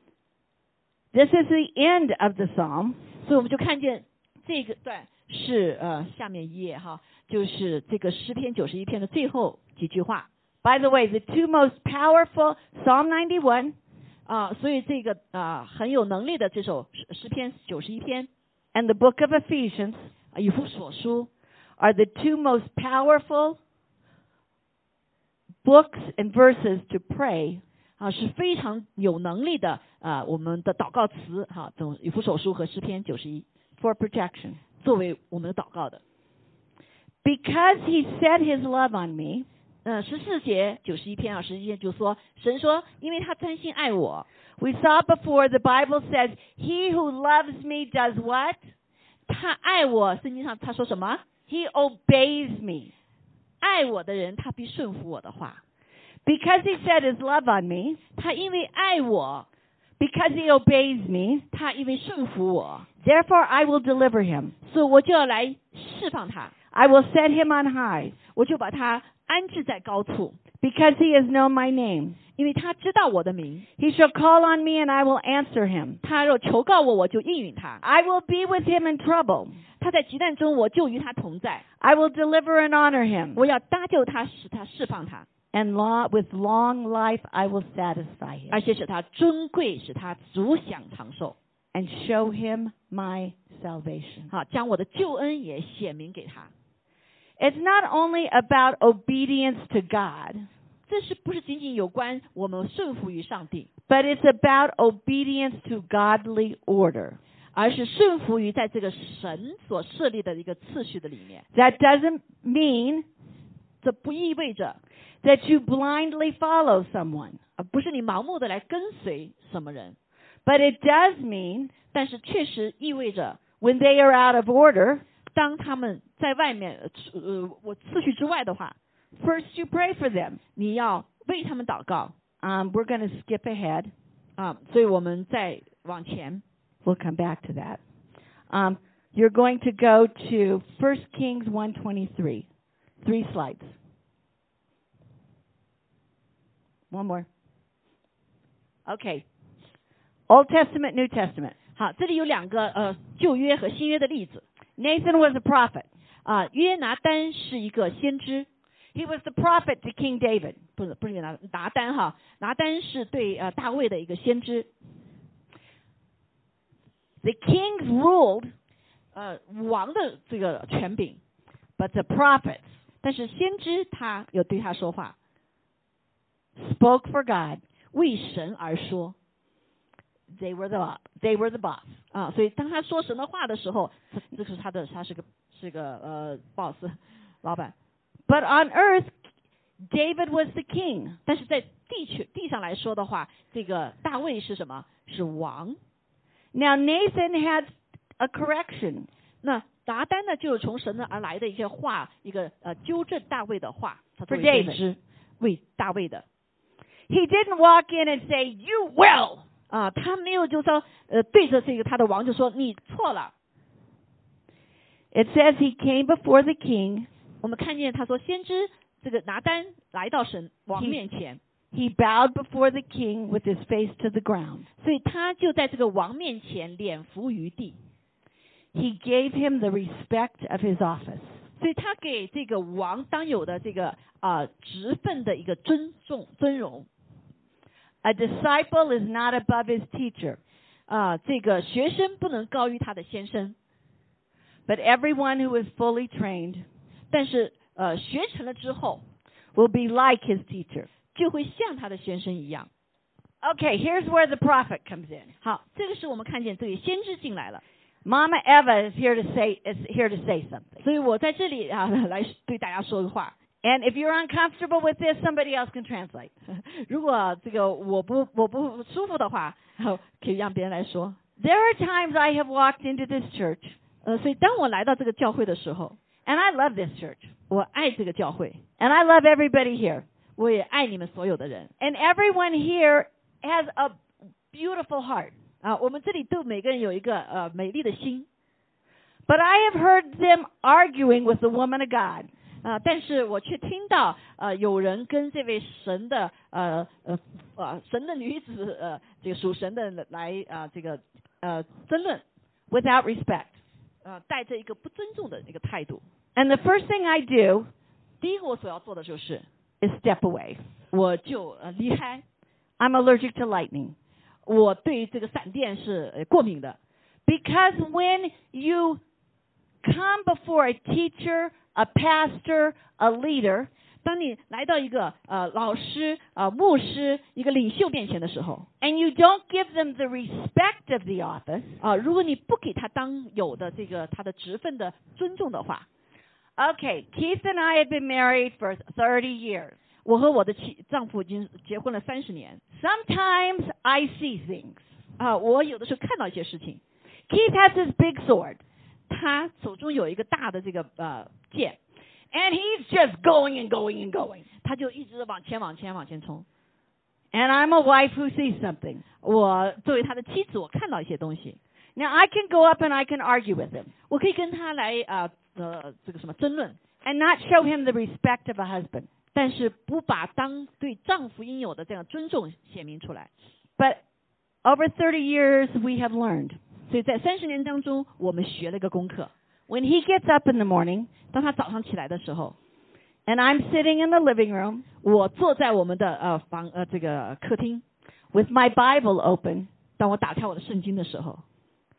This is the end of the psalm. 所以我们就看见这个段是呃下面一页哈，就是这个诗篇九十一篇的最后几句话 By the way, the two most powerful, Psalm ninety-one 啊、所以这个啊、很有能力的这首诗诗篇九十一篇 and the book of Ephesians 啊以弗所书 are the two most powerful books and verses to pray 啊是非常有能力的啊我们的祷告词哈，总以弗所书和诗篇九十一 for protection. 作为我们的祷告的。 Because he set his love on me, 呃，十四节九十一篇啊，十一节就说，神说，因为他真心爱我。 We saw before, the Bible says, he who loves me does what? 他爱我，圣经上他说什么？ He obeys me. 爱我的人，他必顺服我的话。 Because he set his love on me, 他因为爱我， because he obeys me, 他因为顺服我， therefore I will deliver him. 所以我就要来释放他， I will set him on high, 我就把他安置在高处， because he has known my name. 因为他知道我的名。 He shall call on me and I will answer him. 他若求告我，我就应允他。 I will be with him in trouble. 他在急难中，我就与他同在。 I will deliver and honor him. 我要搭救他，使他释放他， And law, with long life I will satisfy him 而且使他尊贵，使他足享长寿。 and show him my salvation. 好，将我的救恩也显明给他。 It's not only about obedience to God, 这是不是仅仅有关我们顺服于上帝， but it's about obedience to godly order. 而是顺服于在这个神所设立的一个次序的里面。 That doesn't mean 这不意味着， that you blindly follow someone, 而不是你盲目的来跟随什么人， but it does mean 但是确实意味着， when they are out of order, 当他们在外面呃呃我次序之外的话， first you pray for them. 你要为他们祷告 Um, we're going to skip ahead. 啊。所以我们再往前， We'll come back to that. Um, you're going to go to First Kings one twenty-three. Three slides. One more. Okay. Old Testament, New Testament. 好，这里有两个呃旧约和新约的例子 Nathan was a prophet. 啊。约拿单是一个先知， He was the prophet to King David. 不是不是拿拿单哈，拿单是对呃大卫的一个先知。 The kings ruled, 呃王的这个权柄， but the prophets 但是先知他有对他说话， spoke for God. 为神而说 They were the they were the boss. 啊。所以当他说神的话的时候，他这是他的他是个是个呃 boss 老板。 But on earth, David was the king. 但是在地区地上来说的话，这个大卫是什么？是王。 Now Nathan had a correction. 那拿单呢，就是从神那而来的一些话，一个呃纠正大卫的话，他作 For 为先 David. 知为大卫的 He didn't walk in and say, "You will." 啊，他没有就说呃对着这个他的王就说你错了。 It says he came before the king. 我们看见他说先知这个拿单来到神王面前， He bowed before the king with his face to the ground. 所以他就在这个王面前脸伏于地， He gave him the respect of his office. 所以他给这个王当有的这个啊、呃、职分的一个尊重尊荣。 A disciple is not above his teacher, 啊、呃，这个学生不能高于他的先生， but everyone who is fully trained 但是呃学成了之后， will be like his teacher. 就会像他的先生一样。 Okay, here's where the prophet comes in. 好，这个是我们看见这位先知进来了， Mama Eva is here to say is here to say something. 所以我在这里啊来对大家说个话。 And if you're uncomfortable with this, somebody else can translate. 如果这个我不我不舒服的话，可以让别人来说。 There are times I have walked into this church, 呃，所以当我来到这个教会的时候， and I love this church, 我爱这个教会， and I love everybody here. 我也爱你们所有的人 And everyone here has a beautiful heart. 啊。我们这里都每个人有一个呃美丽的心 But I have heard them arguing with the woman of God. 啊，但是我却听到呃有人跟这位神的呃呃呃神的女子呃这个属神的来啊、呃、这个呃争论 without respect. 呃带着一个不尊重的一个态度。 And the first thing I do 第一个我所要做的就是 is step away. 我就呃离开。 I'm allergic to lightning. 我对这个闪电是呃过敏的， Because when you come before a teacher, a pastor, a leader, 当你来到一个呃老师、呃牧师、一个领袖面前的时候， and you don't give them the respect of the office, 啊、如果你不给他当有的这个他的职分的尊重的话， okay, Keith and I had been married for thirty years. 我和我的妻丈夫已经结婚了三十年 Sometimes I see things. 啊、我有的时候看到一些事情， Keith has his big sword, 他手中有一个大的这个呃剑， and he's just going and going and going. 他就一直往前往前往前冲。 And I'm a wife who sees something. 我作为他的妻子，我看到一些东西， Now, I can go up and I can argue with him 我可以跟他来啊 呃, 呃这个什么争论， and not show him the respect of a husband. 但是不把当对丈夫应有的这样尊重显明出来。 But over thirty years, we have learned. 所以在三十年当中，我们学了一个功课。 When he gets up in the morning 当他早上起来的时候， and I'm sitting in the living room 我坐在我们的呃房呃这个客厅， with my Bible open, 当我打开我的圣经的时候，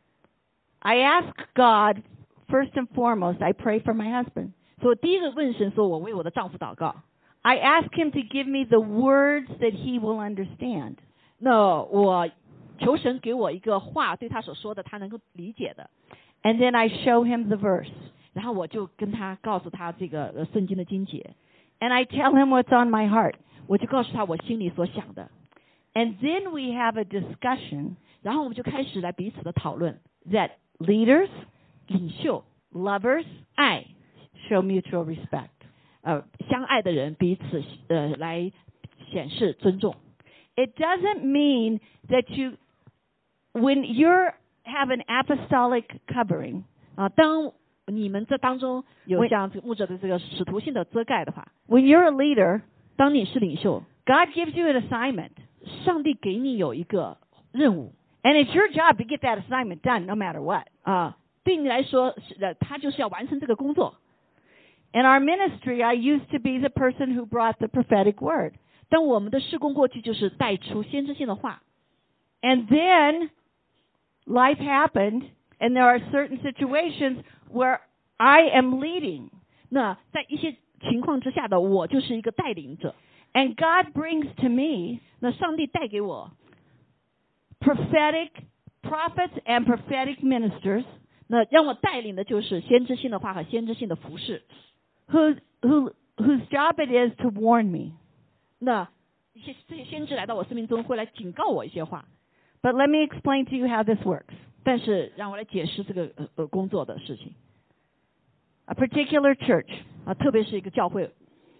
I ask God, first and foremost, I pray for my husband. 所以我第一个问神说，我为我的丈夫祷告。 I ask him to give me the words that he will understand. 那我求神给我一个话，对他所说的他能够理解的， And then I show him the verse. 然后我就跟他告诉他这个呃圣经的经节， And I tell him what's on my heart. 我就告诉他我心里所想的， And then we have a discussion 然后我们就开始来彼此的讨论。 that leaders, 领袖、 lovers, 爱 show mutual respect. 呃相爱的人彼此呃来显示尊重。 It doesn't mean that you, when you're have an apostolic covering, 啊，当你们这当中有我像这个牧者的这个使徒性的遮盖的话， when you're a leader, 当你是领袖， God gives you an assignment. 上帝给你有一个任务 And it's your job to get that assignment done no matter what. 啊，对你来说是呃，他就是要完成这个工作。 In our ministry, I used to be the person who brought the prophetic word. 但我们的事工过去就是带出先知性的话， And then life happened, and there are certain situations where I am leading. 那在一些情况之下的我就是一个带领者， And God brings to me 那上帝带给我 prophetic prophets and prophetic ministers 那让我带领的就是先知性的话和先知性的服饰。 who, who, whose job it is to warn me. 那一些这些先知来到我生命中会来警告我一些话， But let me explain to you how this works. 但是让我来解释这个呃呃工作的事情 A particular church 啊，特别是一个教会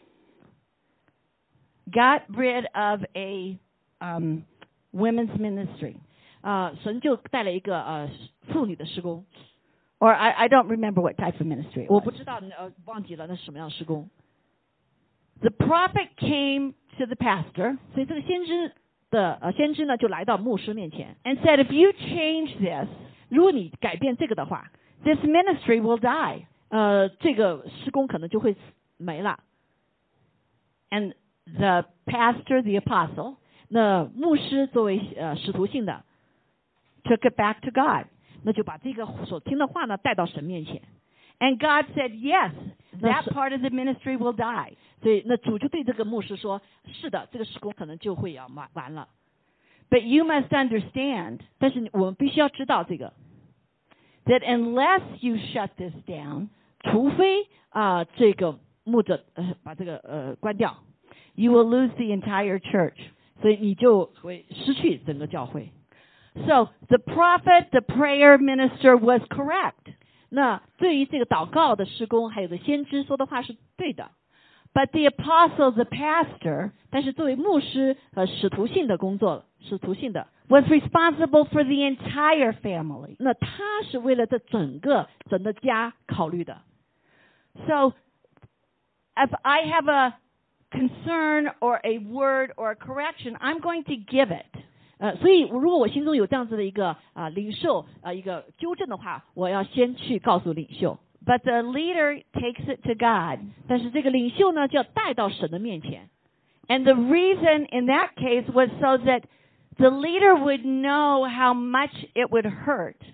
got rid of a um, women's ministry. 啊，神就带了一个呃妇女的施工， Or I, I don't remember what type of ministry it 我 was. 不知道呃忘记了那是什么样的施工。 The prophet came to the pastor 所以这个先知的呃先知呢就来到牧师面前， and said, if you change this, 如果你改变这个的话， this ministry will die. 呃这个施工可能就会没了。 And the pastor, the apostle, 那牧师作为呃使徒性的， took it back to God. 那就把这个所听的话呢带到神面前。 And God said, yes, that That's- part of the ministry will die. 所以那主就对这个牧师说：“是的，这个施工可能就会要完完了。 But you must understand 但是我们必须要知道这个， that unless you shut this down, 除非啊、这个牧者呃把这个呃关掉， you will lose the entire church. 所以你就会失去整个教会。 So the prophet, the prayer minister was correct. 那对于这个祷告的施工，还有个先知说的话是对的， But the apostle, the pastor, 但是作为牧师和使徒性的工作，使徒性的， was responsible for the entire family. 那他是为了这整个整个家考虑的。 So if I have a concern or a word or a correction, I'm going to give it. 呃，所以如果我心中有这样子的一个啊、领袖啊、一个纠正的话，我要先去告诉领袖。 But the leader takes it to God. 但是这个领袖呢，就要带到神的面前。 And the reason in that case was so that the leader would know how much it would hurt.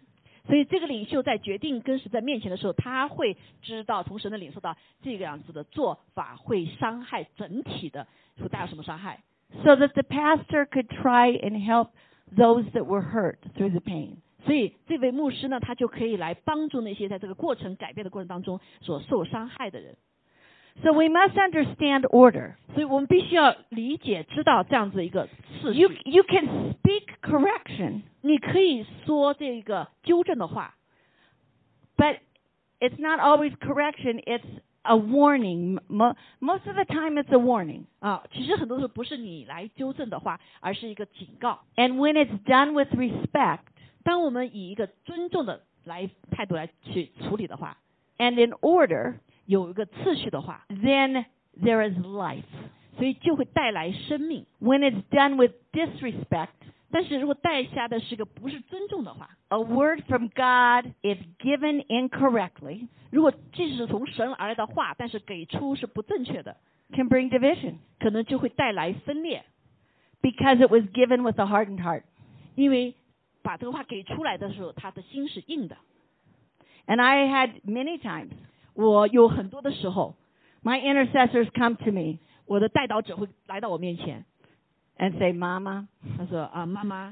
所以这个领袖在决定跟神在面前的时候，他会知道从神的领受到这个样子的做法会伤害整体的，会带来什么伤害。 So that the pastor could try and help those that were hurt through the pain. 所以这位牧师呢，他就可以来帮助那些在这个过程改变的过程当中所受伤害的人。 So we must understand order. 所以我们必须要理解知道这样子一个次序。 You you can speak correction, 你可以说这个纠正的话， but it's not always correction. It's a warning. Mo- most of the time, it's a warning. 啊，其实很多时候不是你来纠正的话，而是一个警告。 And when it's done with respect 当我们以一个尊重的来态度来去处理的话， and in order, 有一个次序的话， then there is life. 所以就会带来生命。 When it's done with disrespect, 但是如果带下的是个不是尊重的话， a word from God, if given incorrectly, 如果即使从神而来的话，但是给出是不正确的， can bring division 可能就会带来分裂， because it was given with a hardened heart. 因为把这个话给出来的时候，他的心是硬的。 And I had many times 我有很多的时候， my intercessors come to me 我的代祷者会来到我面前， and say, Mama, 他说啊，妈妈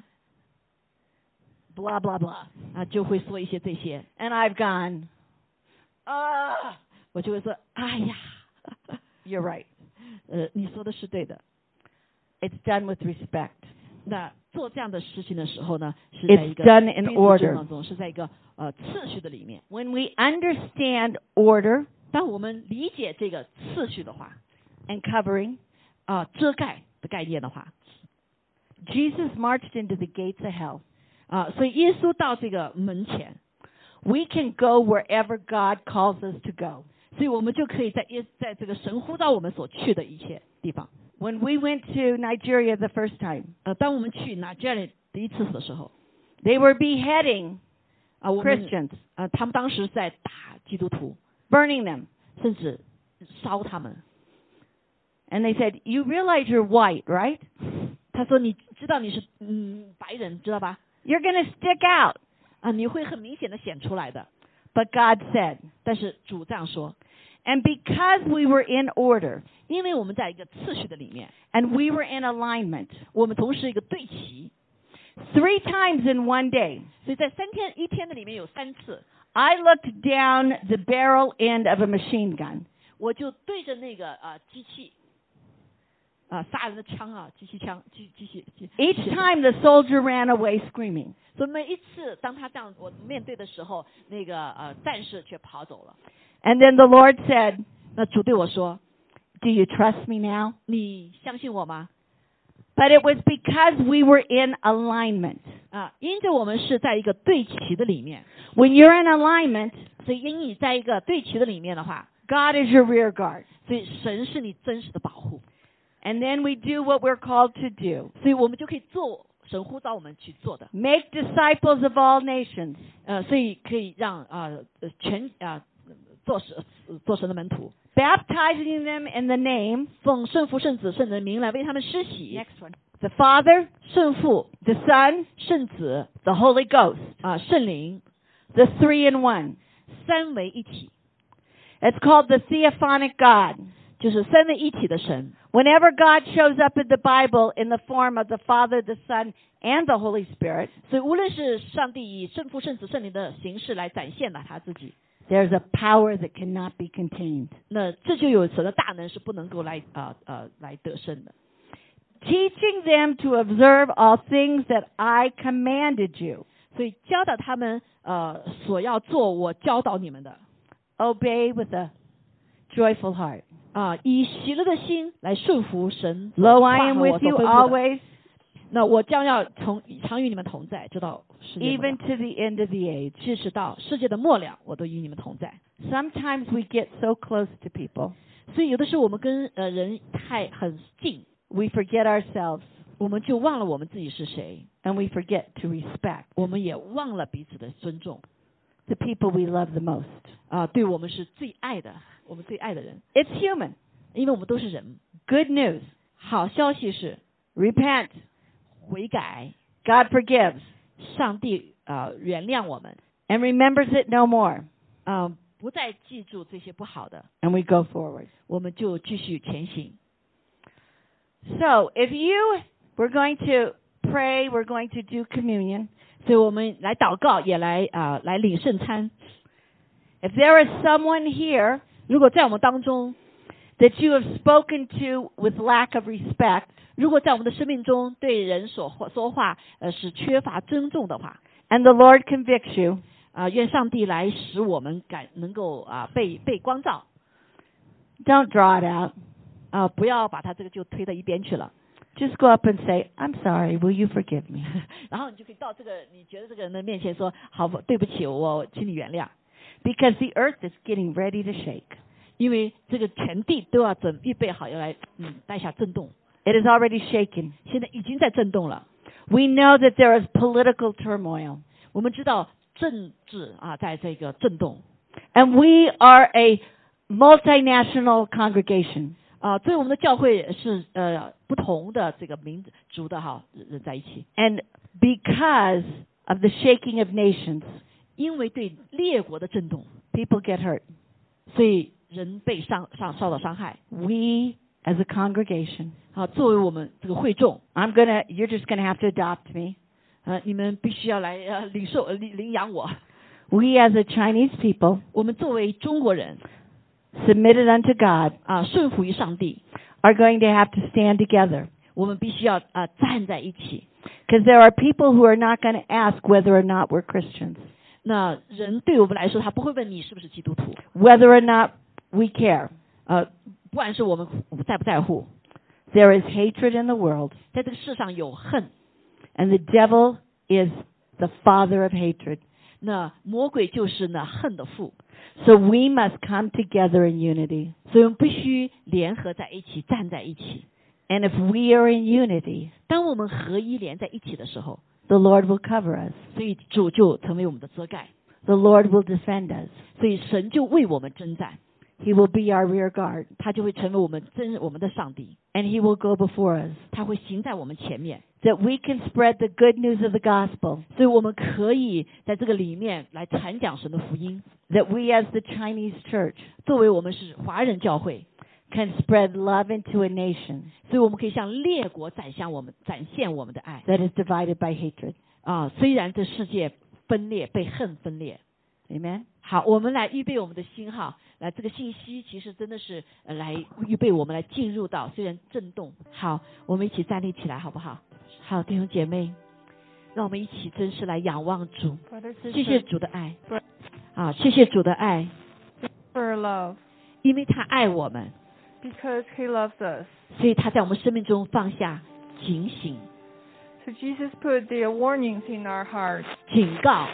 blah, blah, blah. 啊，就会说一些这些， And I've gone, ah, 我就会说，哎呀， you're right. 呃，你说的是对的。 It's done with respect. 那做这样的事情的时候呢，是在一 It's 个 done in 彼此 order. 尊重当中，是在一个呃次序的里面。 When we understand order 当我们理解这个次序的话， and covering, 啊、遮盖的概念的话， Jesus marched into the gates of hell. 啊、所以耶稣到这个门前， We can go wherever God calls us to go. 所以我们就可以在耶在这个神呼召我们所去的一切地方。 When we went to Nigeria the first time, 呃，当我们去拿这里第一次的时候， they were beheading 啊、我们 Christians, 啊、他们当时在打基督徒， burning them. 甚至烧他们。 And they said, you realize you're white, right? 他说：“你知道你是嗯白人，知道吧？ You're going to stick out. 啊，你会很明显的显出来的。 But God said, 但是主这样说， and because we were in order 因为我们在一个次序的里面， and we were in alignment, 我们同时一个对齐， three times in one day, 所以在三天一天的里面有三次， I looked down the barrel end of a machine gun. 我就对着那个啊、机器啊、杀人的枪啊，机器枪，机机器机。 Each time the soldier ran away screaming. 所以每一次当他这样我面对的时候，那个呃战士却跑走了。 And then the Lord said, 那主对我说 do you trust me now?：“ 你相信我吗？ But it was because we were in alignment. 啊，因着我们是在一个对齐的里面， When you're in alignment, 所以因你在一个对齐的里面的话， God is your rear guard. 所以神是你真实的保护， And then we do what we're called to do. 所以我们就可以做神呼召我们去做的。 Make disciples of all nations. 呃，所以可以让啊、呃、全啊、做神做神的门徒， Baptizing them in the name, 奉圣父圣子圣人的名来为他们施洗。 next one, the Father, 圣父、 the Son, 圣子 the Holy Ghost, 啊、圣灵 the three in one. 三为一体， It's called the theophanic God. 就是三位一体的神。 Whenever God shows up in the Bible in the form of the Father, the Son, and the Holy Spirit, 所以无论是上帝以圣父、圣子、圣灵的形式来展现了他自己， there's a power that cannot be contained. 那这就有神的大能是不能够来啊呃来得胜的。 Teaching them to observe all things that I commanded you. 所以教导他们呃所要做我教导你们的 Obey with a joyful heart. 啊、以喜乐的心来顺服神所 Lo, 话 I am 和我 with 所 you 吩咐的。 always, 那我将要从常与你们同在，直到世界末 even 了， to the end of the age. 即使到世界的末了，我都与你们同在。 Sometimes we get so close to people, 所以有的时候我们跟呃人太很近， we forget ourselves, 我们就忘了我们自己是谁， and we forget to respect 我们也忘了彼此的尊重 the people we love the most. 啊、对我们是最爱的，我们最爱的人， It's human. 因为我们都是人。 Good news. 好消息是 Repent. 悔改， God forgives. 上帝啊、呃原谅我们， and remembers it no more. 啊、呃，不再记住这些不好的， And we go forward. 我们就继续前行。 So if you, we're going to pray, we're going to do communion. 所以我们来祷告，也来啊、呃、来领圣餐。 If there is someone here 如果在我们当中， that you have spoken to with lack of respect, 如果在我们的生命中对人所说话呃是缺乏尊重的话， and the Lord convicts you, 啊、愿上帝来使我们感能够啊、被被光照， don't draw it out. 啊、不要把他这个就推到一边去了。 Just go up and say, I'm sorry, will you forgive me? 然后你就可以到这个你觉得这个人的面前说，好，对不起，我请你原谅， Because the earth is getting ready to shake. 因为这个全地都要准预备好要来嗯带下震动， It is already shaken. 现在已经在震动了。 We know that there is political turmoil. 我们知道政治啊在这个震动， And we are a multinational congregation. 啊，所以我们的教会是呃不同的这个民族的哈人在一起， And because of the shaking of nations, 因为对列国的震动， people get hurt. 所以人被伤伤受到伤害。 We, as a congregation, 啊，作为我们这个会众， I'm gonna, you're just gonna have to adopt me. 呃，你们必须要来呃领受呃领领养我。 We, as a Chinese people, 我们作为中国人 submitted unto God, 啊，顺服于上帝， are going to have to stand together. 我们必须要啊站在一起。 Because there are people who are not going to ask whether or not we're Christians, 那人对我们来说，他不会问你是不是基督徒， whether or not we care. 呃，不管是我们在不在乎， There is hatred in the world, 在这个世上有恨， and the devil is the father of hatred. 那魔鬼就是那恨的父， So we must come together in unity. 所以我们必须联合在一起，站在一起。 And if we are in unity, 当我们合一连在一起的时候， the Lord will cover us. 所以主就成为我们的遮盖， The Lord will defend us. 所以神就为我们征战， He will be our rear guard, 他就会成为我们真我们的上帝， and He will go before us, 他会行在我们前面， that we can spread the good news of the gospel, 所以我们可以在这个里面来传讲神的福音。 that we as the Chinese church 作为我们是华人教会， can spread love into a nation 所以我们可以向列国展现我们展现我们的爱 that is divided by hatred. 啊！虽然这世界分裂，被恨分裂。 Amen? 好，我们来预备我们的心哈，来这个信息其实真的是呃来预备我们来进入到虽然震动。好，我们一起站立起来好不好？好，弟兄姐妹，让我们一起真是来仰望主，谢谢主的爱，啊，谢谢主的爱， for love, 因为他爱我们， because He loves us. 所以他在我们生命中放下警醒、 So Jesus put the warnings in our hearts, 警告，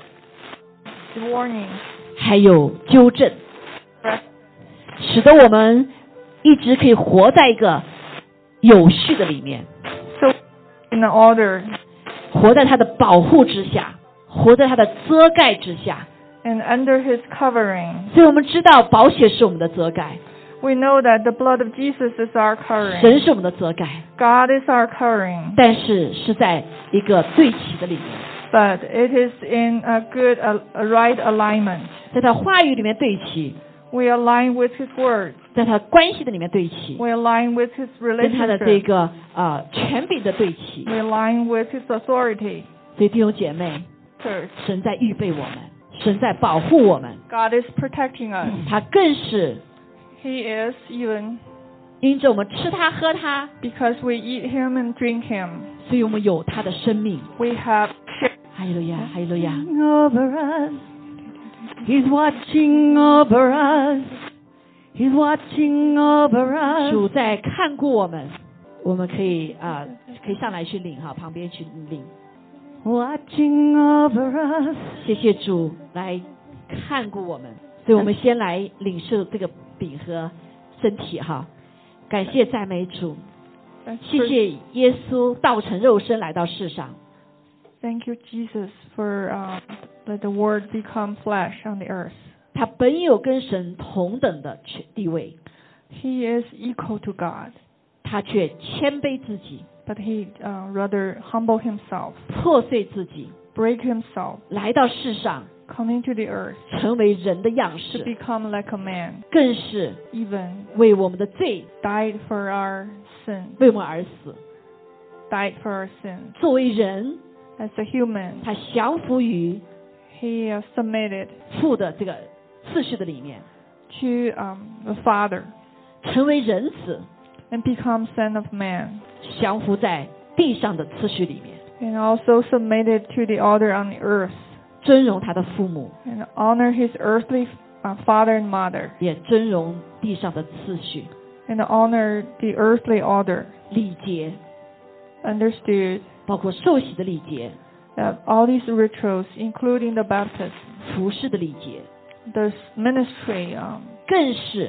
the warnings, 还有纠正， correct, 使得我们一直可以活在一个有序的里面， so in the order, 活在他的保护之下，活在他的遮盖之下。 and under His covering. 所以我们知道宝血是我们的遮盖， We know that the blood of Jesus is our covering. 神是我们的遮盖， God is our covering. 但是是在一个对齐的里面， But it is in a good, a, a right alignment. 在他话语里面对齐， We align with His word. 在他关系的里面对齐， We align with His 跟他的这 relationship. 个呃权柄的对齐。 We align with His authority. 所以弟兄姐妹， Church. 神在预备我们，神在保护我们， God is protecting us. 他更是 He is even 因着我们吃他喝他， because we eat Him and drink Him. 所以我们有他的生命。 We have 哈利路亚，哈利路亚。 Over us. He's watching over us. He's watching over us. 主在看顾我们，我们可以啊、呃可以上来去领哈，旁边去领。 Watching over us. 谢谢主来看顾我们，所以我们先来领受这个饼和身体哈。感谢赞美主，谢谢耶稣道成肉身来到世上。 Thank you, Jesus, for uh, let the Word become flesh on the earth. 他本有跟神同等的地位， He is equal to God, 他却谦卑自己， but He uh, rather humble Himself, 破碎自己， break Himself, 来到世上， come into the earth 成为人的样 to 式， become like a man, 更是 even 为我们的罪 died for our sin, 为我们而死。 died for our sin. 作为人， As a human, 他降服于 he uh, submitted 父的这个次序的里面， to um, the Father 成为人子， and become Son of Man, 降服在地上的次序里面， and also submitted to the order on the earth, 尊荣他的父母， and honor his earthly uh, father and mother, 也尊荣地上的次序、 and honor the earthly order. 礼节， Understood 包括受洗的礼节、 that all these rituals, including the baptism, 服侍的礼节， the ministry, um, 更是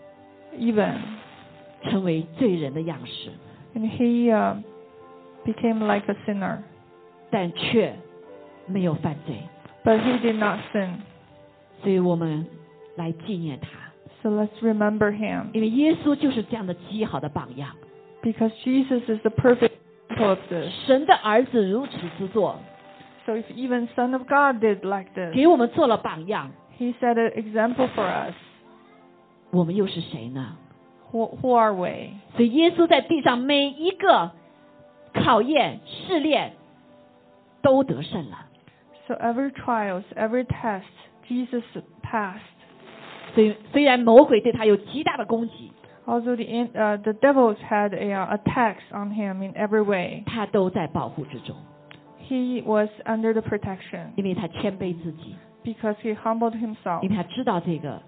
even, 成为罪人的样式， and he uh, became like a sinner, 但却没有犯罪， but he did not sin. 所以我们来纪念他， So let's remember him, 因为耶稣就是这样的极好的榜样。 because Jesus is the perfect example of this. 神的儿子如此之做， So if even Son of God did like this, 给我们做了榜样， he set an example for us. 我们又是谁呢？ Who, who are we? 所以耶稣在地上每一个考验、试炼都得胜了。 So every trials, every test, Jesus passed. 所以虽然魔鬼对他有极大的攻击， Although the in- uh, the devils had a, uh, attacks on him in every way, 他都在保护之中， he was under the protection 因为他谦卑自己， because he humbled himself, 因为他知道这个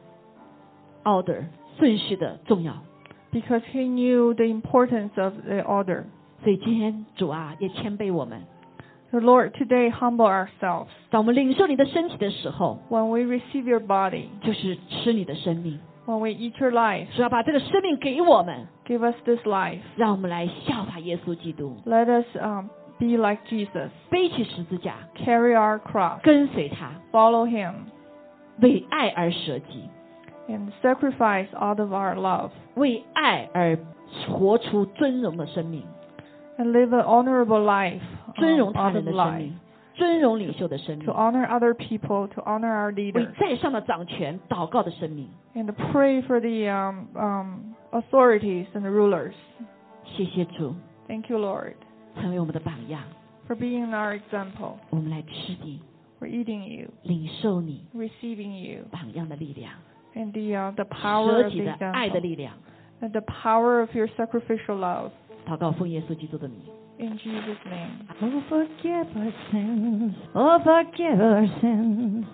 order 顺序的重要。 because he knew the importance of the order. 所以今天主啊，也谦卑我们， So Lord, today humble ourselves. 当我们领受你的身体的时候， When we receive your body, 就是吃你的生命， when we eat your life, 主要把这个生命给我们， give us this life. 让我们来效法耶稣基督， Let us um, be like Jesus, 背起十字架， carry our cross, 跟随他， follow him, 为爱而舍己， and sacrifice out of our love, 为爱而活出尊荣的生命， and live an honorable life, 尊 um, 荣他 out 人 of 的生 life. 命，尊荣领袖的生 To 命， honor other people, to honor our 为 leaders, 在上的掌权祷告的生命。 and to pray for the um, um, authorities and the rulers. 谢谢主， Thank you, Lord, 成为我们的榜样， for being our example, 我们来吃你， for eating you, 领受你 receiving you, 榜样的力量， and the uh, the power 舍 of 己 the 的爱的 example, 力量。 and the power of your sacrificial love. 祷告奉耶稣基督的名。 In Jesus' name. Oh, forgive our sins. Oh, forgive our sins.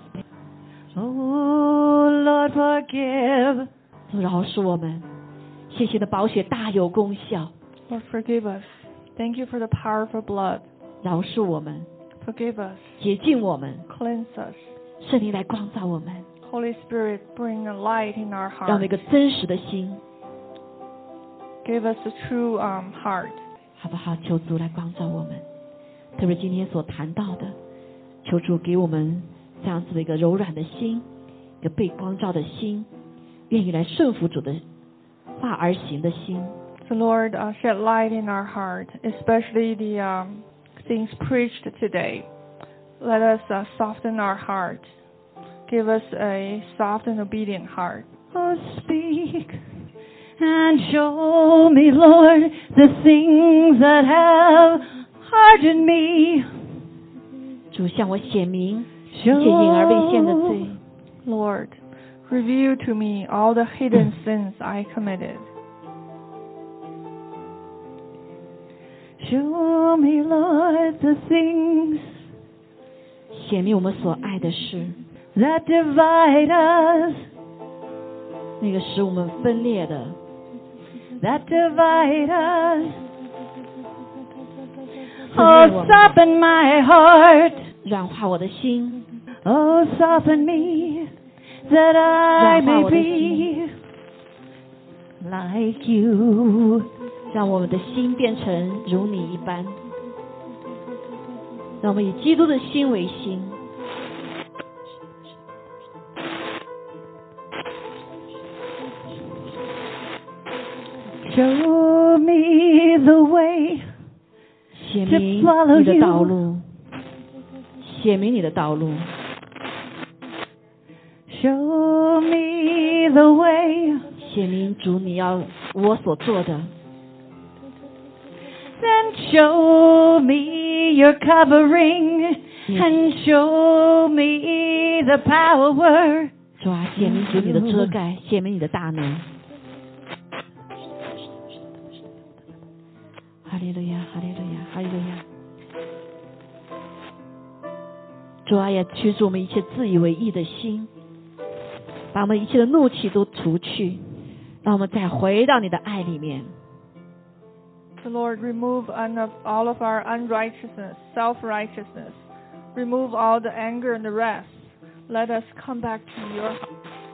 Oh, Lord, forgive. 主饶恕我们，谢谢的宝血大有功效， Lord, forgive us. Thank you for the power of your blood. 饶恕我们， Forgive us. 洁净我们， Cleanse us. 圣灵来光照我们， Holy Spirit, bring a light in our 让我们 heart. 一个真实的心， Give us a true um, heart. 好不好？求主来光照我们，特别今天所谈到的，求主给我们这样子的一个柔软的心，一个被光照的心，愿意来顺服主的话而行的心。 So Lord, uh, shed light in our heart, especially the um, things preached today. Let us uh, soften our heart. Give us a soft and obedient heart. Oh, speak and show me, Lord, the things that have hardened me. 主向我显明一 Show 切隐而未现的罪， Lord, reveal to me all the hidden sins I committed. Show me, Lord, the things 显明我们所爱的事， that divide us, 那个使我们分裂的， that divide us. 分裂 Oh, 我们， soften my heart. 软化我的心， Oh, soften me, that I 软化 may 我的心， be like you. 让我们的心变成如你一般，让我们以基督的心为心。 Show me the way 显明你的道路，显明你的道路， me the way. 显明主你要我所做的， Then show me your covering and show me the power. 主啊，显明主你的遮盖，显明你的大能。哈利路亚，哈利路亚，哈利路亚。主啊，也驱逐我们一切自以为义的心，把我们一切的怒气都除去，让我们再回到你的爱里面。 The Lord, remove all of our unrighteousness, self-righteousness. Remove all the anger and the wrath. Let us come back to your heart.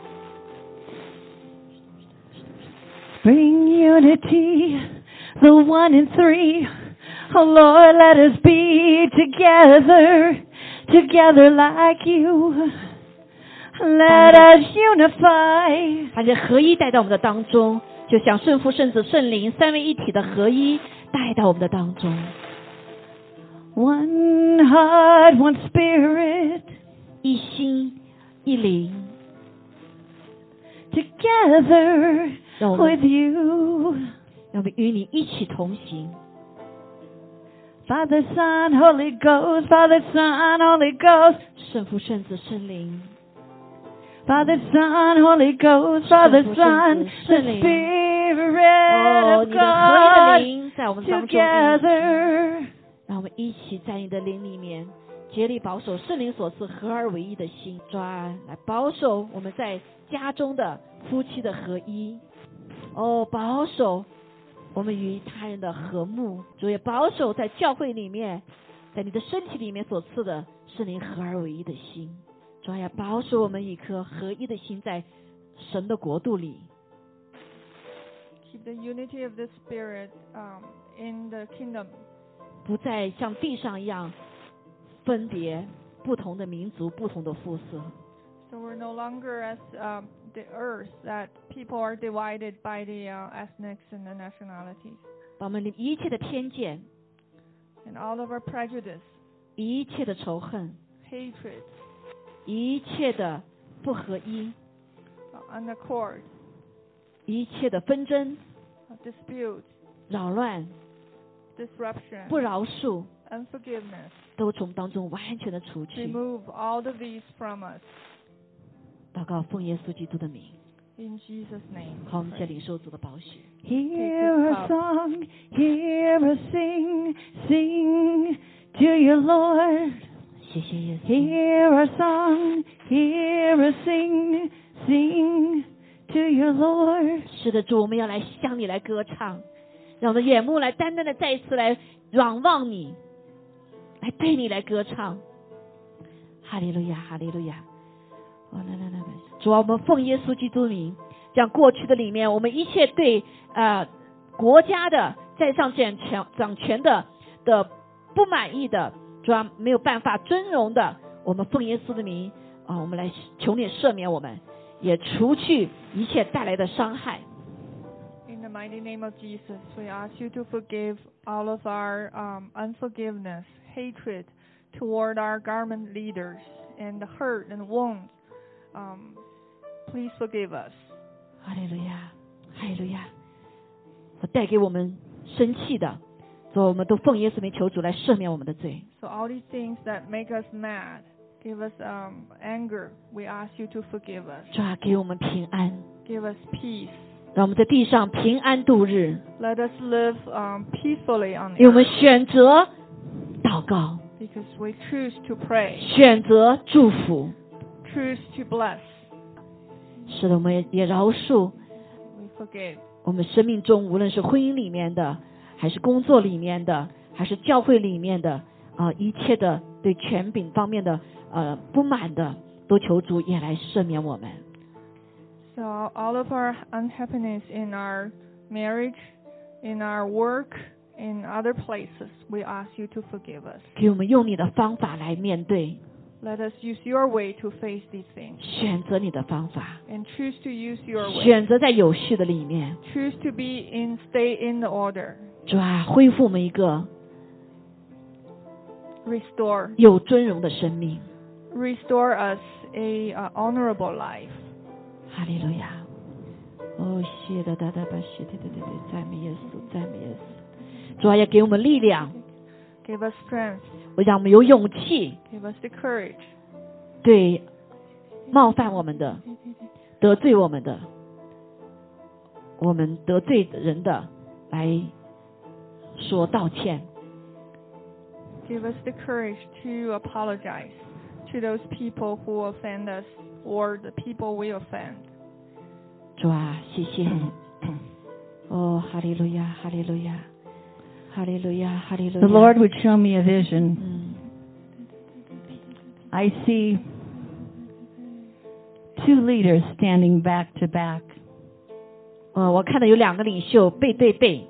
Bring unity, the one in three. Oh Lord, let us be together, together like you. Let us unify. 把这合一带到我们的当中，就像圣父、圣子、圣灵三位一体的合一带到我们的当中。 One heart, one spirit. 一心一灵 together 让我们 with you. 让我们与你一起同行。 Father, Son, Holy Ghost, Father, Son, Holy Ghost. 圣父、圣子、圣灵。 Father, Son, Holy Ghost, Father, Son, the Spirit of God together. 让我们一起在你的灵里面竭力保守圣灵所赐合而为一的心，抓来保守我们在家中的夫妻的合一，哦，保守我们与他人的和睦，主也保守在教会里面，在你的身体里面所赐的圣灵合而为一的心，主也保守我们一颗合一的心在神的国度里。 Keep the unity of the Spirit um, in the kingdom. 不再像地上一样分别不同的民族、不同的肤色。 So we're no longer as um, the earth that people are divided by the uh, ethnics and the nationalities. 把我们一切的偏见 And all of our prejudice, 一切的仇恨 hatred, 一切的不合一 uh, unaccord, 一切的纷争 uh, dispute, 扰乱 disruption, 不饶恕 unforgiveness. 都从当中完全的除去。 Remove all of these from us. 祷告奉耶稣基督的名。 In Jesus' name. 好，我们先领受主的宝血。 Hear a song, hear us sing, sing to your Lord. 谢谢耶稣。 Hear our song, hear us sing, sing to your Lord. 是的，主，我们要来向你来歌唱，让我们的眼目来单单的再一次来仰望你，来对你来歌唱。哈利路亚，哈利路亚。哦，来来来来，主啊，我们奉耶稣基督名，将过去的里面，我们一切对呃国家的在上掌权掌权的的不满意的，主啊没有办法尊荣的，我们奉耶稣的名啊，我们来求你赦免我们，也除去一切带来的伤害。 In the mighty name of Jesus, we ask you to forgive all of our um, unforgiveness, hatred toward our government leaders, and the hurt and wounds. Um, please forgive us. 哈利路亚，哈利路亚！带给我们生气的，所以我们都奉耶稣名求主来赦免我们的罪。 So all these things that make us mad, give us um, anger, we ask you to forgive us. 主啊，给我们平安， Give us peace. 让我们在地上平安度日。 Let us live um, peacefully on 因为我 earth 们选择祷告， because we choose to pray, 选择祝福。 choose to bless. 是的，我们也也饶恕 We forgive. 我们生命中无论是婚姻里面的，还是工作里面的，还是教会里面的啊、呃，一切的对权柄方面的呃不满的，都求主也来赦免我们。 So all of our unhappiness in our marriage, in our work, in other places, we ask you to forgive us. 给我们用你的方法来面对， Let us use your way to face these things 选择你的方法， and choose to use your way. 选择在有序的里面， Choose to be in, stay in the order. 主啊，恢复我们一个 Restore, 有尊荣的生命。 restore us a uh, honorable life. 哈利路亚。 哦，谢的哒哒吧，谢对对对对，赞美耶稣，赞美耶稣。主啊，要给我们力量， Give us strength. 我让我们有勇气， Give us the courage. 对冒犯我们的、得罪我们的、我们得罪人的来说道歉。 Give us the courage to apologize to those people who offend us or the people we offend. 主啊，谢谢你。哦，哈利路亚，哈利路亚，哈利路亚，哈利路亚。 The Lord would show me a vision. 嗯， I see two leaders standing back to back. 呃，我看到有两个领袖背对背，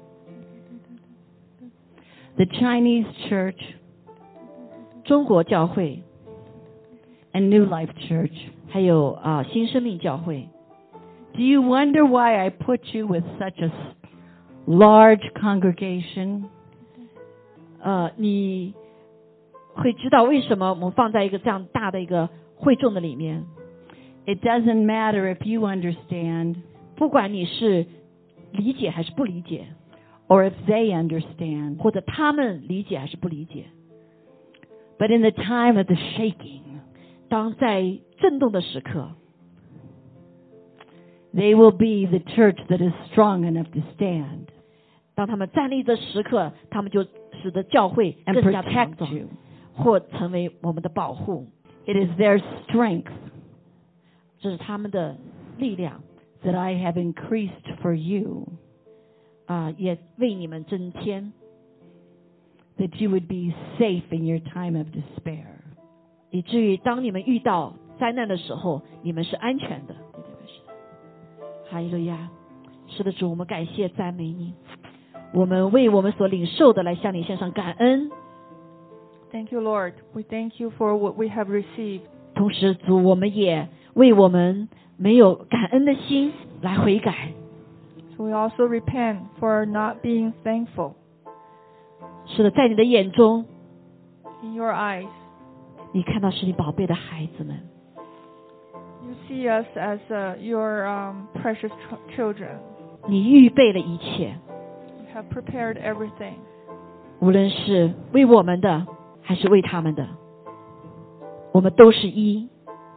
The Chinese church 中国教会 and New Life Church. 还有啊、新生命教会。 Do you wonder why I put you with such a s- large congregation? 呃，你会知道为什么我们放在一个这样大的一个会众的里面？ It doesn't matter if you understand 不管你是理解还是不理解， or if they understand. 或者他们理解还是不理解， But in the time of the shaking, 当在震动的时刻， they will be the church that is strong enough to stand 当他们站立的时刻，他们就使得教会 and 更加的强 protect 壮， you. 或成为我们的保护。 It is their strength 这是他们的力量 that I have increased for you, 啊、也为你们增添， that you would be safe in your time of despair. 以至于当你们遇到灾难的时候，你们是安全的。对对对，是的。哈利路亚，是的，主，我们感谢赞美你，我们为我们所领受的来向你献上感恩。 Thank you, Lord. We thank you for what we have received. 同时，主，我们也为我们没有感恩的心来悔改。 So we also repent for not being thankful. 是的，在你的眼中， In your eyes, 你看到是你宝贝的孩子们， you see us as uh, your um, precious ch- children. 你预备了一切， You have prepared everything. 无论是为我们的还是为他们的，我们都是一。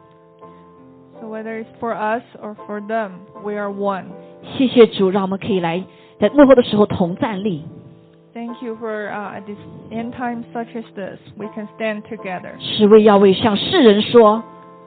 So whether it's for us or for them, we are one. 谢谢主，让我们可以来在幕后的时候同站立， Thank you for uh, at this end time such as this, we can stand together. 是为要为向世人说，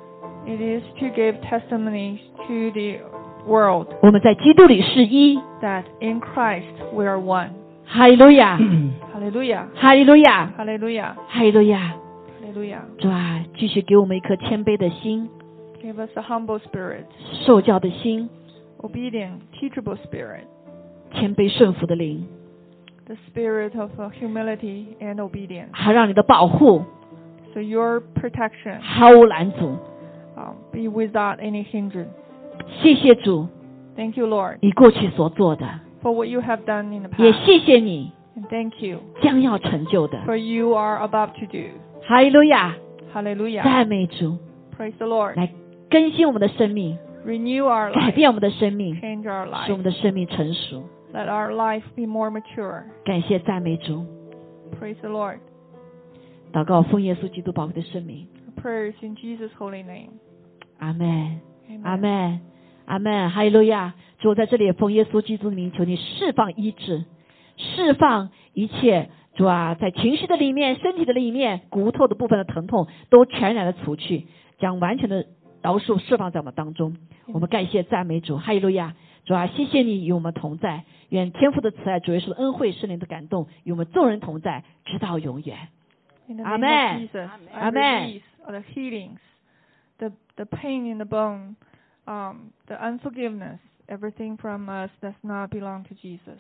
It is to give testimony to the world 我们在基督里是一。 that in Christ we are one. 哈利路亚， Hallelujah. 哈利路亚， Hallelujah. 哈利路亚。 Hallelujah. 主啊，继续给我们一颗谦卑的心， Give us a humble spirit, 受教的心， obedient, teachable spirit, 谦卑顺服的灵， the spirit of uh, humility and obedience. 好让你的保护 So your protection 毫无拦阻。 um, be without any hindrance. 谢谢主， Thank you, Lord, 你过去所做的， for what you have done in the 也 past. 谢谢你 And thank you 将要成就的。 for you are about to do. 哈利路亚， Hallelujah. 赞美主， Praise the Lord. 来更新我们的生命， Renew our 改 life. 变我们的生命， Change our 使我 life. 们的生命成熟。 Let our life be more mature. 感谢赞美主， Praise the Lord. 祷告奉耶稣基督宝贵的圣名， Our prayers in Jesus' holy name. 阿门， Amen. 阿门，阿门，哈利路亚！主，我在这里也奉耶稣基督的名，求你释放医治，释放一切。主啊，在情绪的里面、身体的里面、骨头的部分的疼痛都全然的除去，将完全的饶恕释放在我们当中。我们感谢赞美主，哈利路亚！主啊，谢谢你与我们同在，愿天父的慈爱、主耶稣的恩惠、圣灵的感动与我们众人同在，直到永远。 In the Amen. name of Jesus, I Amen. release all the healings, the the pain in the bone, um, the unforgiveness, everything from us does not belong to Jesus.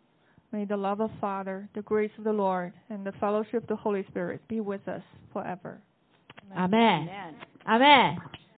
May the love of Father, the grace of the Lord, and the fellowship of the Holy Spirit be with us forever. 阿门，阿门。